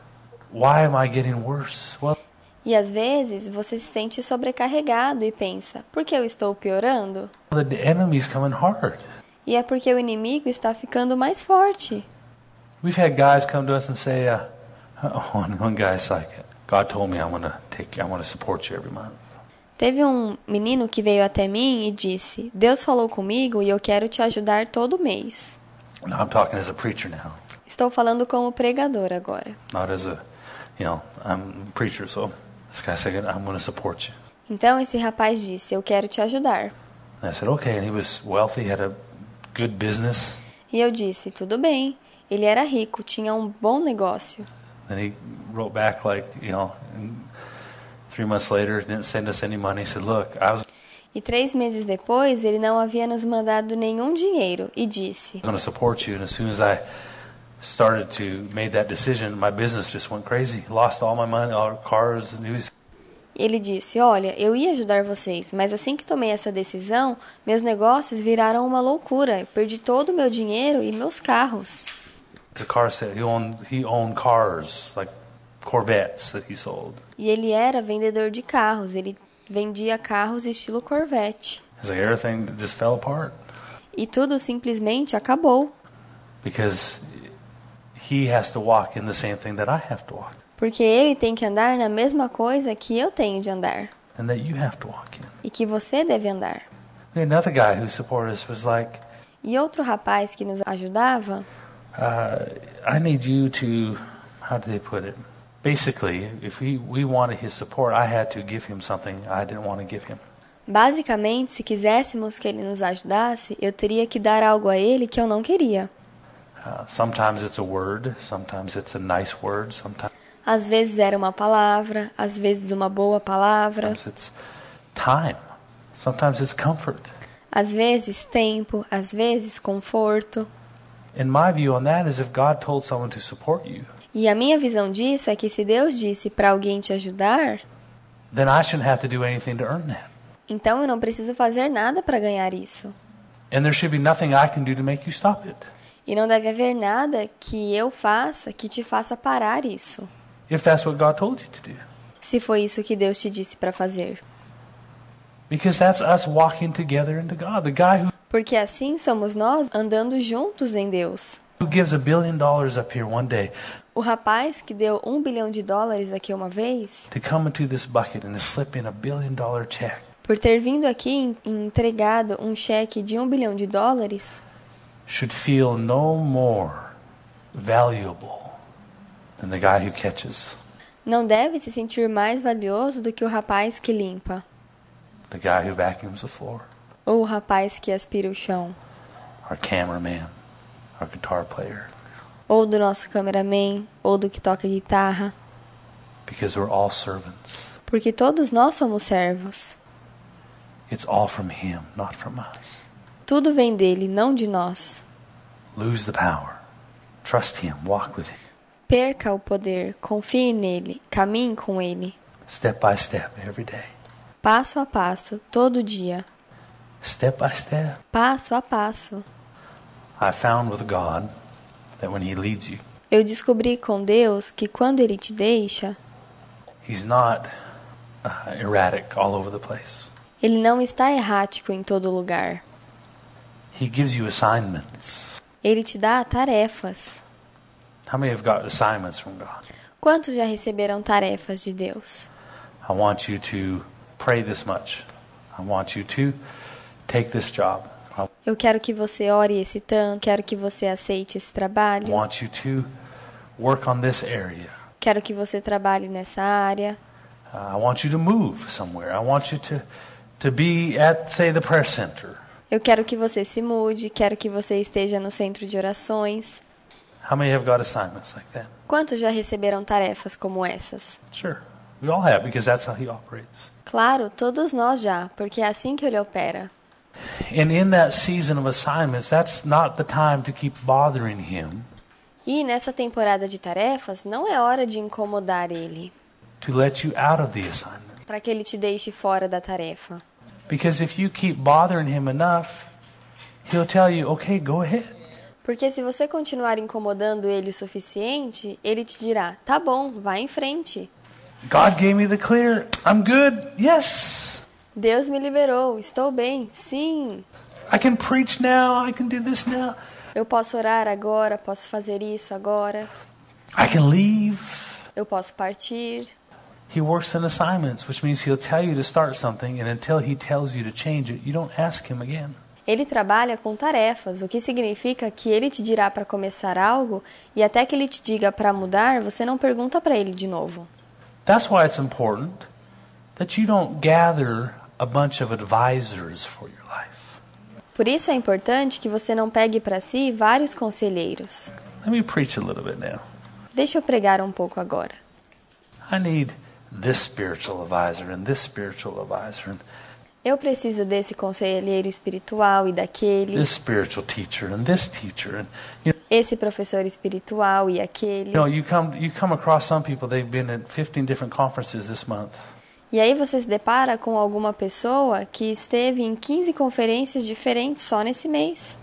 why am I getting worse? Well, E às vezes você se sente sobrecarregado e pensa, por que eu estou piorando? the enemy's coming hard. E é porque o inimigo está ficando mais forte. We've had guys come to us and say, one guy's like, God told me I want to support you every month. Teve um menino que veio até mim e disse, Deus falou comigo e eu quero te ajudar todo mês. Now I'm talking as a preacher now, Estou falando como pregador agora. not as a, I'm a preacher, so this guy said, I'm going to support you. Então esse rapaz disse, eu quero te ajudar. And I said, okay, and he was wealthy, had a good business. E eu disse, tudo bem. Ele era rico, tinha um bom negócio. Then he wrote back like, 3 months later, didn't send us any money. He said, look, I was E 3 meses depois, ele não havia nos mandado nenhum dinheiro e disse, going to support you. And as soon as I started to make that decision, my business just went crazy. Lost all my money, all our cars. And he was ele disse, olha, eu ia ajudar vocês, mas assim que tomei essa decisão, meus negócios viraram uma loucura. Eu perdi todo o meu dinheiro e meus carros. a car set. He owned cars, like Corvettes that he sold. E ele era vendedor de carros, ele vendia carros estilo Corvette. It's like everything just fell apart E tudo simplesmente acabou, because he has to walk in the same thing that I have to walk, porque ele tem que andar na mesma coisa que eu tenho de andar, and that you have to walk in. e que você deve andar. We had another guy who supported us was like, E outro rapaz que nos ajudava, I need you to, how do they put it? Basically, if we wanted his support, I had to give him something I didn't want to give him. basicamente, se quiséssemos que ele nos ajudasse, eu teria que dar algo a ele que eu não queria. Sometimes it's a word, sometimes it's a nice word, sometimes Às vezes era uma palavra, às vezes uma boa palavra, it's time, sometimes it's comfort. às vezes tempo, às vezes conforto. And my view on that is if God told someone to support you, E a minha visão disso é que se Deus disse para alguém te ajudar, then I shouldn't have to do anything to earn that. então eu não preciso fazer nada para ganhar isso. And there should be nothing I can do to make you stop it. E não deve haver nada que eu faça que te faça parar isso, If that's what God told you to do. se foi isso que Deus te disse para fazer. Because that's us walking together into God. The guy Porque assim somos nós andando juntos em Deus. who gives $1 billion up here one day O rapaz que deu $1 bilhão aqui uma vez, to come into this bucket and to slip in $1 billion check, por ter vindo aqui e entregado um cheque de $1 bilhão, should feel no more valuable than the guy who catches, não deve se sentir mais valioso do que o rapaz que limpa, the guy who vacuums the floor, ou o rapaz que aspira o chão, our cameraman, our guitar player, ou do nosso cameraman, ou do que toca guitarra, because we're all servants. porque todos nós somos servos. It's all from him, not from us. Tudo vem dele, não de nós. Lose the power. Trust him. Walk with him. Perca o poder, confie nele, caminhe com ele, Step by step every day. passo a passo, todo dia, Step by step. passo a passo. I found with God that when he leads you, Eu descobri com Deus que quando ele te deixa, he's not erratic all over the place. ele não está errático em todo lugar. He gives you assignments. Ele te dá tarefas. How many have got assignments from God? Quantos já receberam tarefas de Deus? I want you to pray this much. I want you to take this job. I Eu quero que você ore esse tanto, quero que você aceite esse trabalho, want you to work on this area. quero que você trabalhe nessa área, I want you to move somewhere. I want you to be at, say, the prayer center. eu quero que você se mude, quero que você esteja no centro de orações. How many have got assignments like that? Quantos já receberam tarefas como essas? Sure. We all have, because that's how he operates. Claro, todos nós já, porque é assim que ele opera. And in that season of assignments, that's not the time to keep bothering him, E nessa temporada de tarefas, não é hora de incomodar ele, to let you out of the assignment. para que ele te deixe fora da tarefa. Because if you keep bothering him enough, he'll tell you, okay, go ahead. Porque se você continuar incomodando ele o suficiente, ele te dirá, tá bom, vai em frente. God gave me the clear. I'm good. Yes. Deus me liberou, estou bem, sim. I can preach now. I can do this now. Eu posso orar agora, posso fazer isso agora. I can leave. Eu posso partir. He works in assignments, which means he'll tell you to start something, and until he tells you to change it, you don't ask him again. Ele trabalha com tarefas, o que significa que ele te dirá para começar algo e até que ele te diga para mudar, você não pergunta para ele de novo. That's why it's important that you don't gather a bunch of advisors for your life. Por isso é importante que você não pegue para si vários conselheiros. Let me preach a little bit now. Deixa eu pregar um pouco agora. I need this spiritual advisor and this spiritual advisor and Eu preciso desse conselheiro espiritual e daquele. this spiritual teacher and this teacher. And Esse professor espiritual e aquele. you come across some people, they've been at 15 different conferences this month. E aí você se depara com alguma pessoa que esteve em 15 conferências diferentes só nesse mês.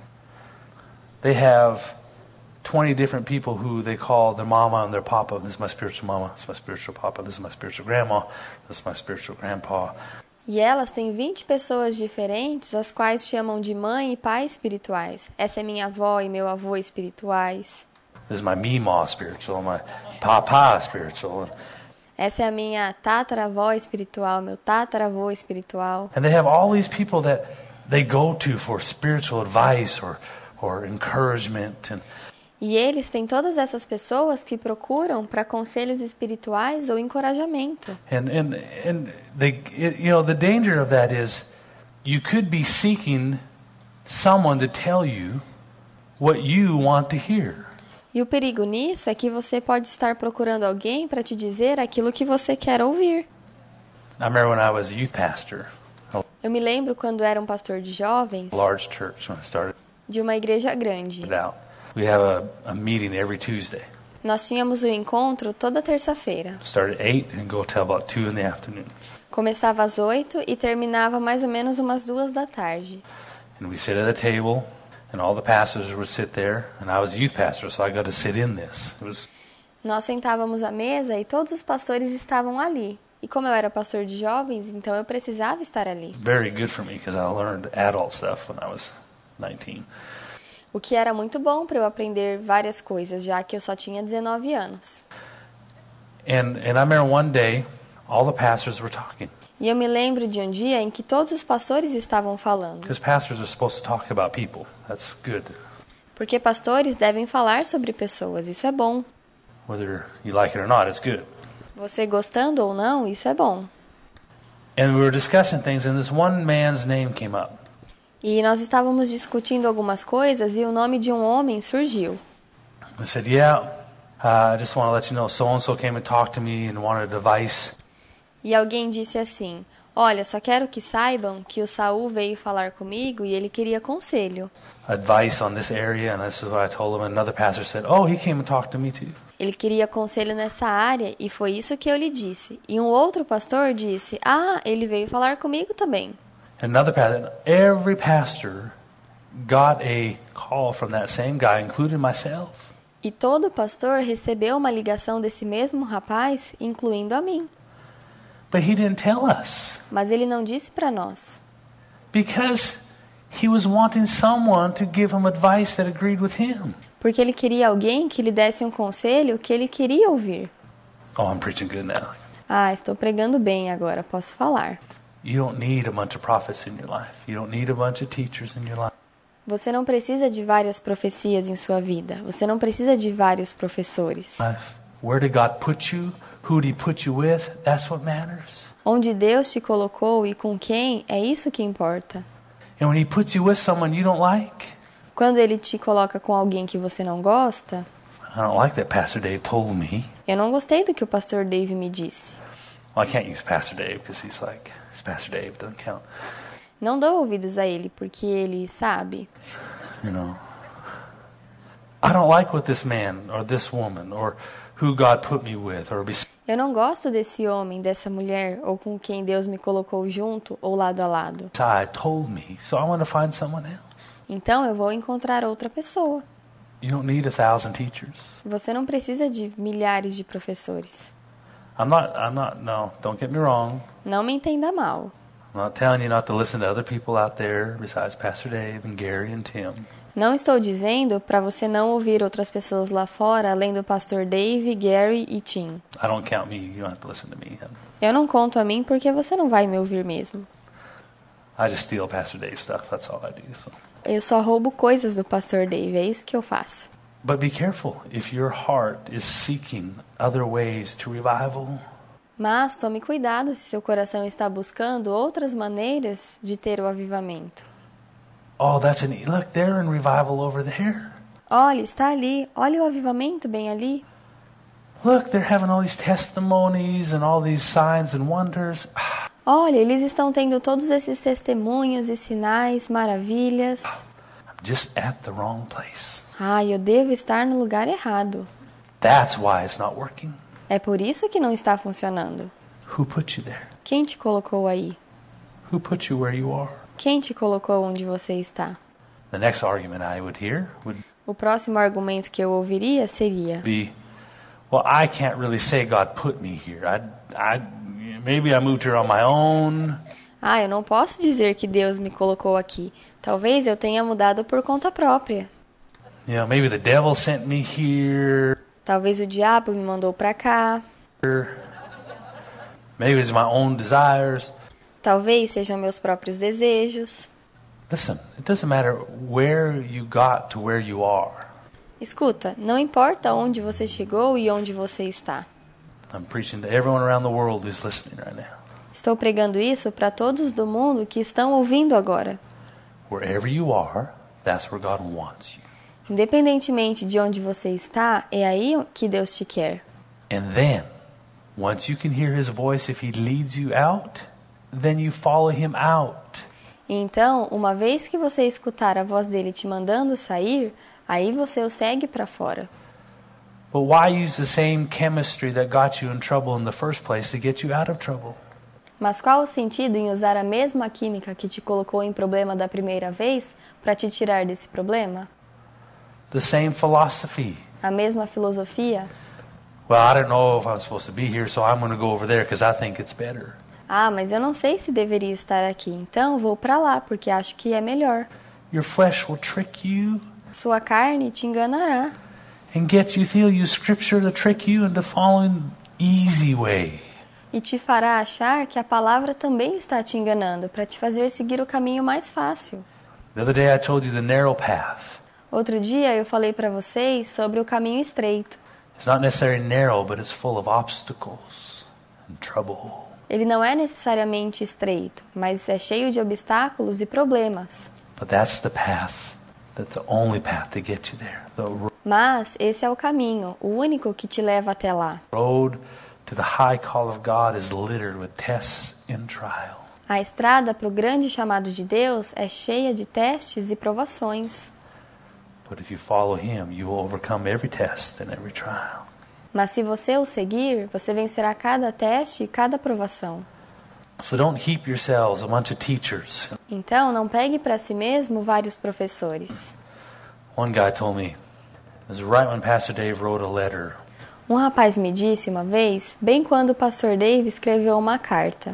They have 20 different people who they call their mama and their papa. This is my spiritual mama, this is my spiritual papa, this is my spiritual grandma, this is my spiritual grandpa. E elas têm 20 pessoas diferentes, as quais chamam de mãe e pai espirituais. Essa é minha avó e meu avô espirituais. This is my Meemaw spiritual, my papa spiritual. Essa é a minha tataravó espiritual, meu tataravô espiritual. And they have all these people that they go to for spiritual advice or encouragement. E eles têm todas essas pessoas que procuram para conselhos espirituais ou encorajamento. And they, the danger of that is you could be seeking someone to tell you what you want to hear. E o perigo nisso é que você pode estar procurando alguém para te dizer aquilo que você quer ouvir. I remember when I was a youth pastor, Eu me lembro quando era um pastor de jovens, a large church when I started de uma igreja grande. out. We have a meeting every Tuesday. Nós tínhamos o encontro toda terça-feira. Start at 8 and go till about 2 in the afternoon. Começava às 8 e terminava mais ou menos umas 2 da tarde. And we sit at a table, and all the pastors would sit there, and I was a youth pastor, so I got to sit in this. It was Nós sentávamos à mesa e todos os pastores estavam ali. E como eu era pastor de jovens, então eu precisava estar ali. very good for me because I learned adult stuff when I was 19. O que era muito bom para eu aprender várias coisas, já que eu só tinha 19 anos. And I remember one day, all the pastors were talking. E eu me lembro de um dia em que todos os pastores estavam falando. Because pastors are supposed to talk about people. That's good. Porque pastores devem falar sobre pessoas, isso é bom. Whether you like it or not, it's good. Você gostando ou não, isso é bom. And we were discussing things, and this one man's name came up. E nós estávamos discutindo algumas coisas e o nome de um homem surgiu. I said, yeah, I just want to let you know, so-and-so came and talked to me and wanted advice. E alguém disse assim: olha, só quero que saibam que o Saul veio falar comigo e ele queria conselho. Advice on this area, and this is what I told him. And another pastor said, oh, he came and talked to me too. Ele queria conselho nessa área e foi isso que eu lhe disse. E um outro pastor disse: ah, ele veio falar comigo também. Another pastor, every pastor got a call from that same guy, including myself. E todo pastor recebeu uma ligação desse mesmo rapaz, incluindo a mim. But he didn't tell us Mas ele não disse para nós. because he was wanting someone to give him advice that agreed with him. Porque ele queria alguém que lhe desse um conselho que ele queria ouvir. Oh, I'm preaching good now. Ah, estou pregando bem agora, posso falar. You don't need a bunch of prophets in your life. You don't need a bunch of teachers in your life. Você não precisa de várias profecias em sua vida. Você não precisa de vários professores. Where did God put you? Who did He put you with? That's what matters. Onde Deus te colocou e com quem, é isso que importa. And when He puts you with someone you don't like, Quando Ele te coloca com alguém que você não gosta, I don't like that Pastor Dave told me. eu não gostei do que o pastor Dave me disse. Well, I can't use Pastor Dave because he's like, it's Pastor Dave, doesn't count. Não dou ouvidos a ele, porque ele sabe. You know, I don't like what this man or this woman or who God put me with or Eu não gosto desse homem, dessa mulher, ou com quem Deus me colocou junto ou lado a lado. beside told me, so I want to find someone else. Então eu vou encontrar outra pessoa. You don't need 1,000 teachers. Você não precisa de milhares de professores. No, don't get me wrong. Não me entenda mal. I'm not telling you not to listen to other people out there besides Pastor Dave and Gary and Tim. Não estou dizendo para você não ouvir outras pessoas lá fora, além do pastor Dave, Gary e Tim. I don't count me. You don't have to listen to me. Eu não conto a mim porque você não vai me ouvir mesmo. I just steal Pastor Dave's stuff. That's all I do. So. Eu só roubo coisas do pastor Dave, é isso que eu faço. But be careful if your heart is seeking other ways to revival. Mas tome cuidado se seu coração está buscando outras maneiras de ter o avivamento. Oh, look, they're in revival over there. Olha, está ali. Olha o avivamento bem ali. Look, they're having all these testimonies and all these signs and wonders. Olha, eles estão tendo todos esses testemunhos e sinais, maravilhas. I'm just at the wrong place. Eu devo estar no lugar errado. That's why it's not working. É por isso que não está funcionando. Who put you there? Quem te colocou aí? Who put you where you are? Quem te colocou onde você está? The next argument I would hear would O próximo argumento que eu ouviria seria: be, well, I can't really say God put me here. Maybe I moved here on my own. Eu não posso dizer que Deus me colocou aqui. Talvez eu tenha mudado por conta própria. Maybe the devil sent me here. Talvez o diabo me mandou para cá. Maybe it's my own desires. Talvez sejam meus próprios desejos. Listen, it doesn't matter where you got to where you are. Escuta, não importa onde você chegou e onde você está. I'm preaching to everyone around the world who's listening right now. Estou pregando isso para todos do mundo que estão ouvindo agora. Wherever you are, that's where God wants you. Independentemente de onde você está, é aí que Deus te quer. And then, once you can hear His voice, if He leads you out, then you follow Him out. Então, uma vez que você escutar a voz dele te mandando sair, aí você o segue para fora. But why use the same chemistry that got you in trouble in the first place to get you out of trouble? Mas qual o sentido em usar a mesma química que te colocou em problema da primeira vez para te tirar desse problema? The same philosophy. A mesma filosofia? Well, I don't know if I'm supposed to be here, so I'm going to go over there because I think it's better. Mas eu não sei se deveria estar aqui, então vou para lá porque acho que é melhor. Your flesh will trick you. Sua carne te enganará. And get you, they'll use scripture to trick you into following easy way. E te fará achar que a palavra também está te enganando para te fazer seguir o caminho mais fácil. The other day I told you the narrow path. Outro dia eu falei para vocês sobre o caminho estreito. It's not necessarily narrow, but it's full of obstacles and trouble. Ele não é necessariamente estreito, mas é cheio de obstáculos e problemas. But that's the path. That's the only path to get you there. Mas esse é o caminho, o único que te leva até lá. The road to the high call of God is littered with tests and trial. A estrada para o grande chamado de Deus é cheia de testes e provações. But if you follow Him, you will overcome every test and every trial. Mas se você o seguir, você vencerá cada teste e cada provação. So don't heap yourselves a bunch of teachers. Então, não pegue para si mesmo vários professores. One guy told me, it was right when Pastor Dave wrote a letter. Um rapaz me disse uma vez, bem quando o pastor Dave escreveu uma carta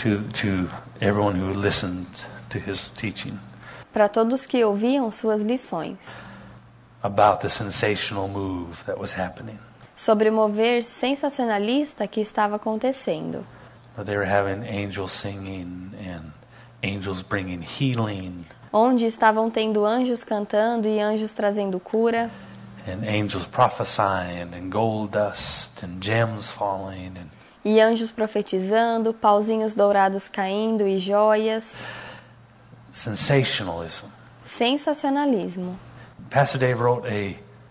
to everyone who listened to his teaching. Para todos que ouviam suas lições. About the sensational move that was happening. Sobre o mover sensacionalista que estava acontecendo. They were having angels singing and angels bringing healing. Onde estavam tendo anjos cantando e anjos trazendo cura. And angels prophesying and gold dust and gems falling. E anjos profetizando, pauzinhos dourados caindo e joias. Sensationalism. Sensacionalismo. Pastor Dave wrote a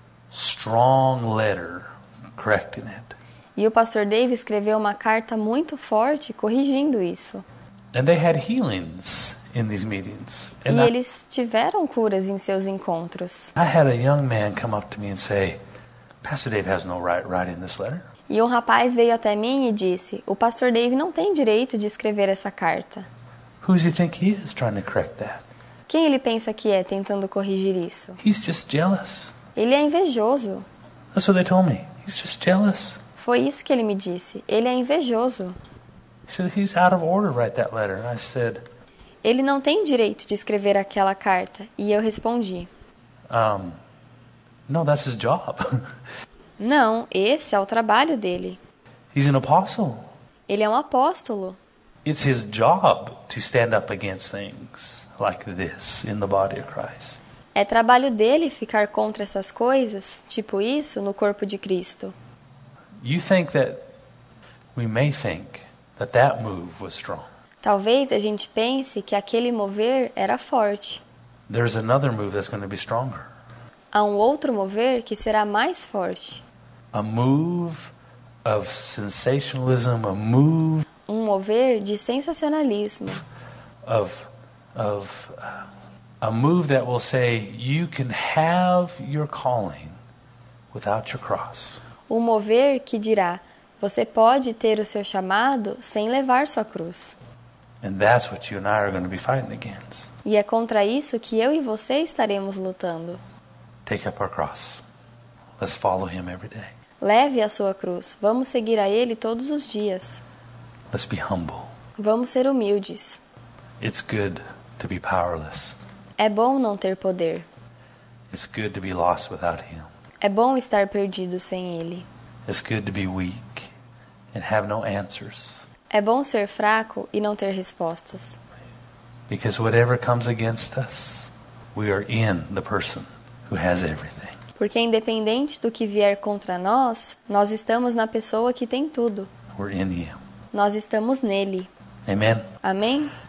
strong letter correcting it. E o pastor Dave escreveu uma carta muito forte corrigindo isso. And they had healings in these meetings. E eles tiveram curas em seus encontros. I had a young man come up to me and say, Pastor Dave has no right writing this letter. E um rapaz veio até mim e disse, o pastor Dave não tem direito de escrever essa carta. Who does he think he is trying to correct that? Quem ele pensa que é tentando corrigir isso? He's just jealous. Ele é invejoso. That's what they told me. He's just jealous. Foi isso que ele me disse. Ele é invejoso. He said, he's out of order to write that letter. And I said, Ele não tem direito de escrever aquela carta. E eu respondi, no, that's his job. não, esse é o trabalho dele. He's an apostle. Ele é um apóstolo. It's his job to stand up against things like this in the body of Christ. É trabalho dele ficar contra essas coisas, tipo isso, no corpo de Cristo. You think that we may think that that move was strong. Talvez a gente pense que aquele mover era forte. There's another move that's going to be stronger. Há um outro mover que será mais forte. A move of sensationalism, a move Um mover de sensacionalismo. A move that will say you can have your calling without your cross. Um mover que dirá, você pode ter o seu chamado sem levar sua cruz. And that's what you and I are going to be fighting against. E é contra isso que eu e você estaremos lutando. Take up our cross. Let's follow him every day. Leve a sua cruz. Vamos seguir a ele todos os dias. Let's be humble. Vamos ser humildes. It's good to be powerless. É bom não ter poder. It's good to be lost without him. É bom estar perdido sem ele. It's good to be weak and have no answers. É bom ser fraco e não ter respostas. Because whatever comes against us, we are in the person who has everything. Porque independente do que vier contra nós, nós estamos na pessoa que tem tudo. We're in him. Nós estamos nele. Amen. Amém?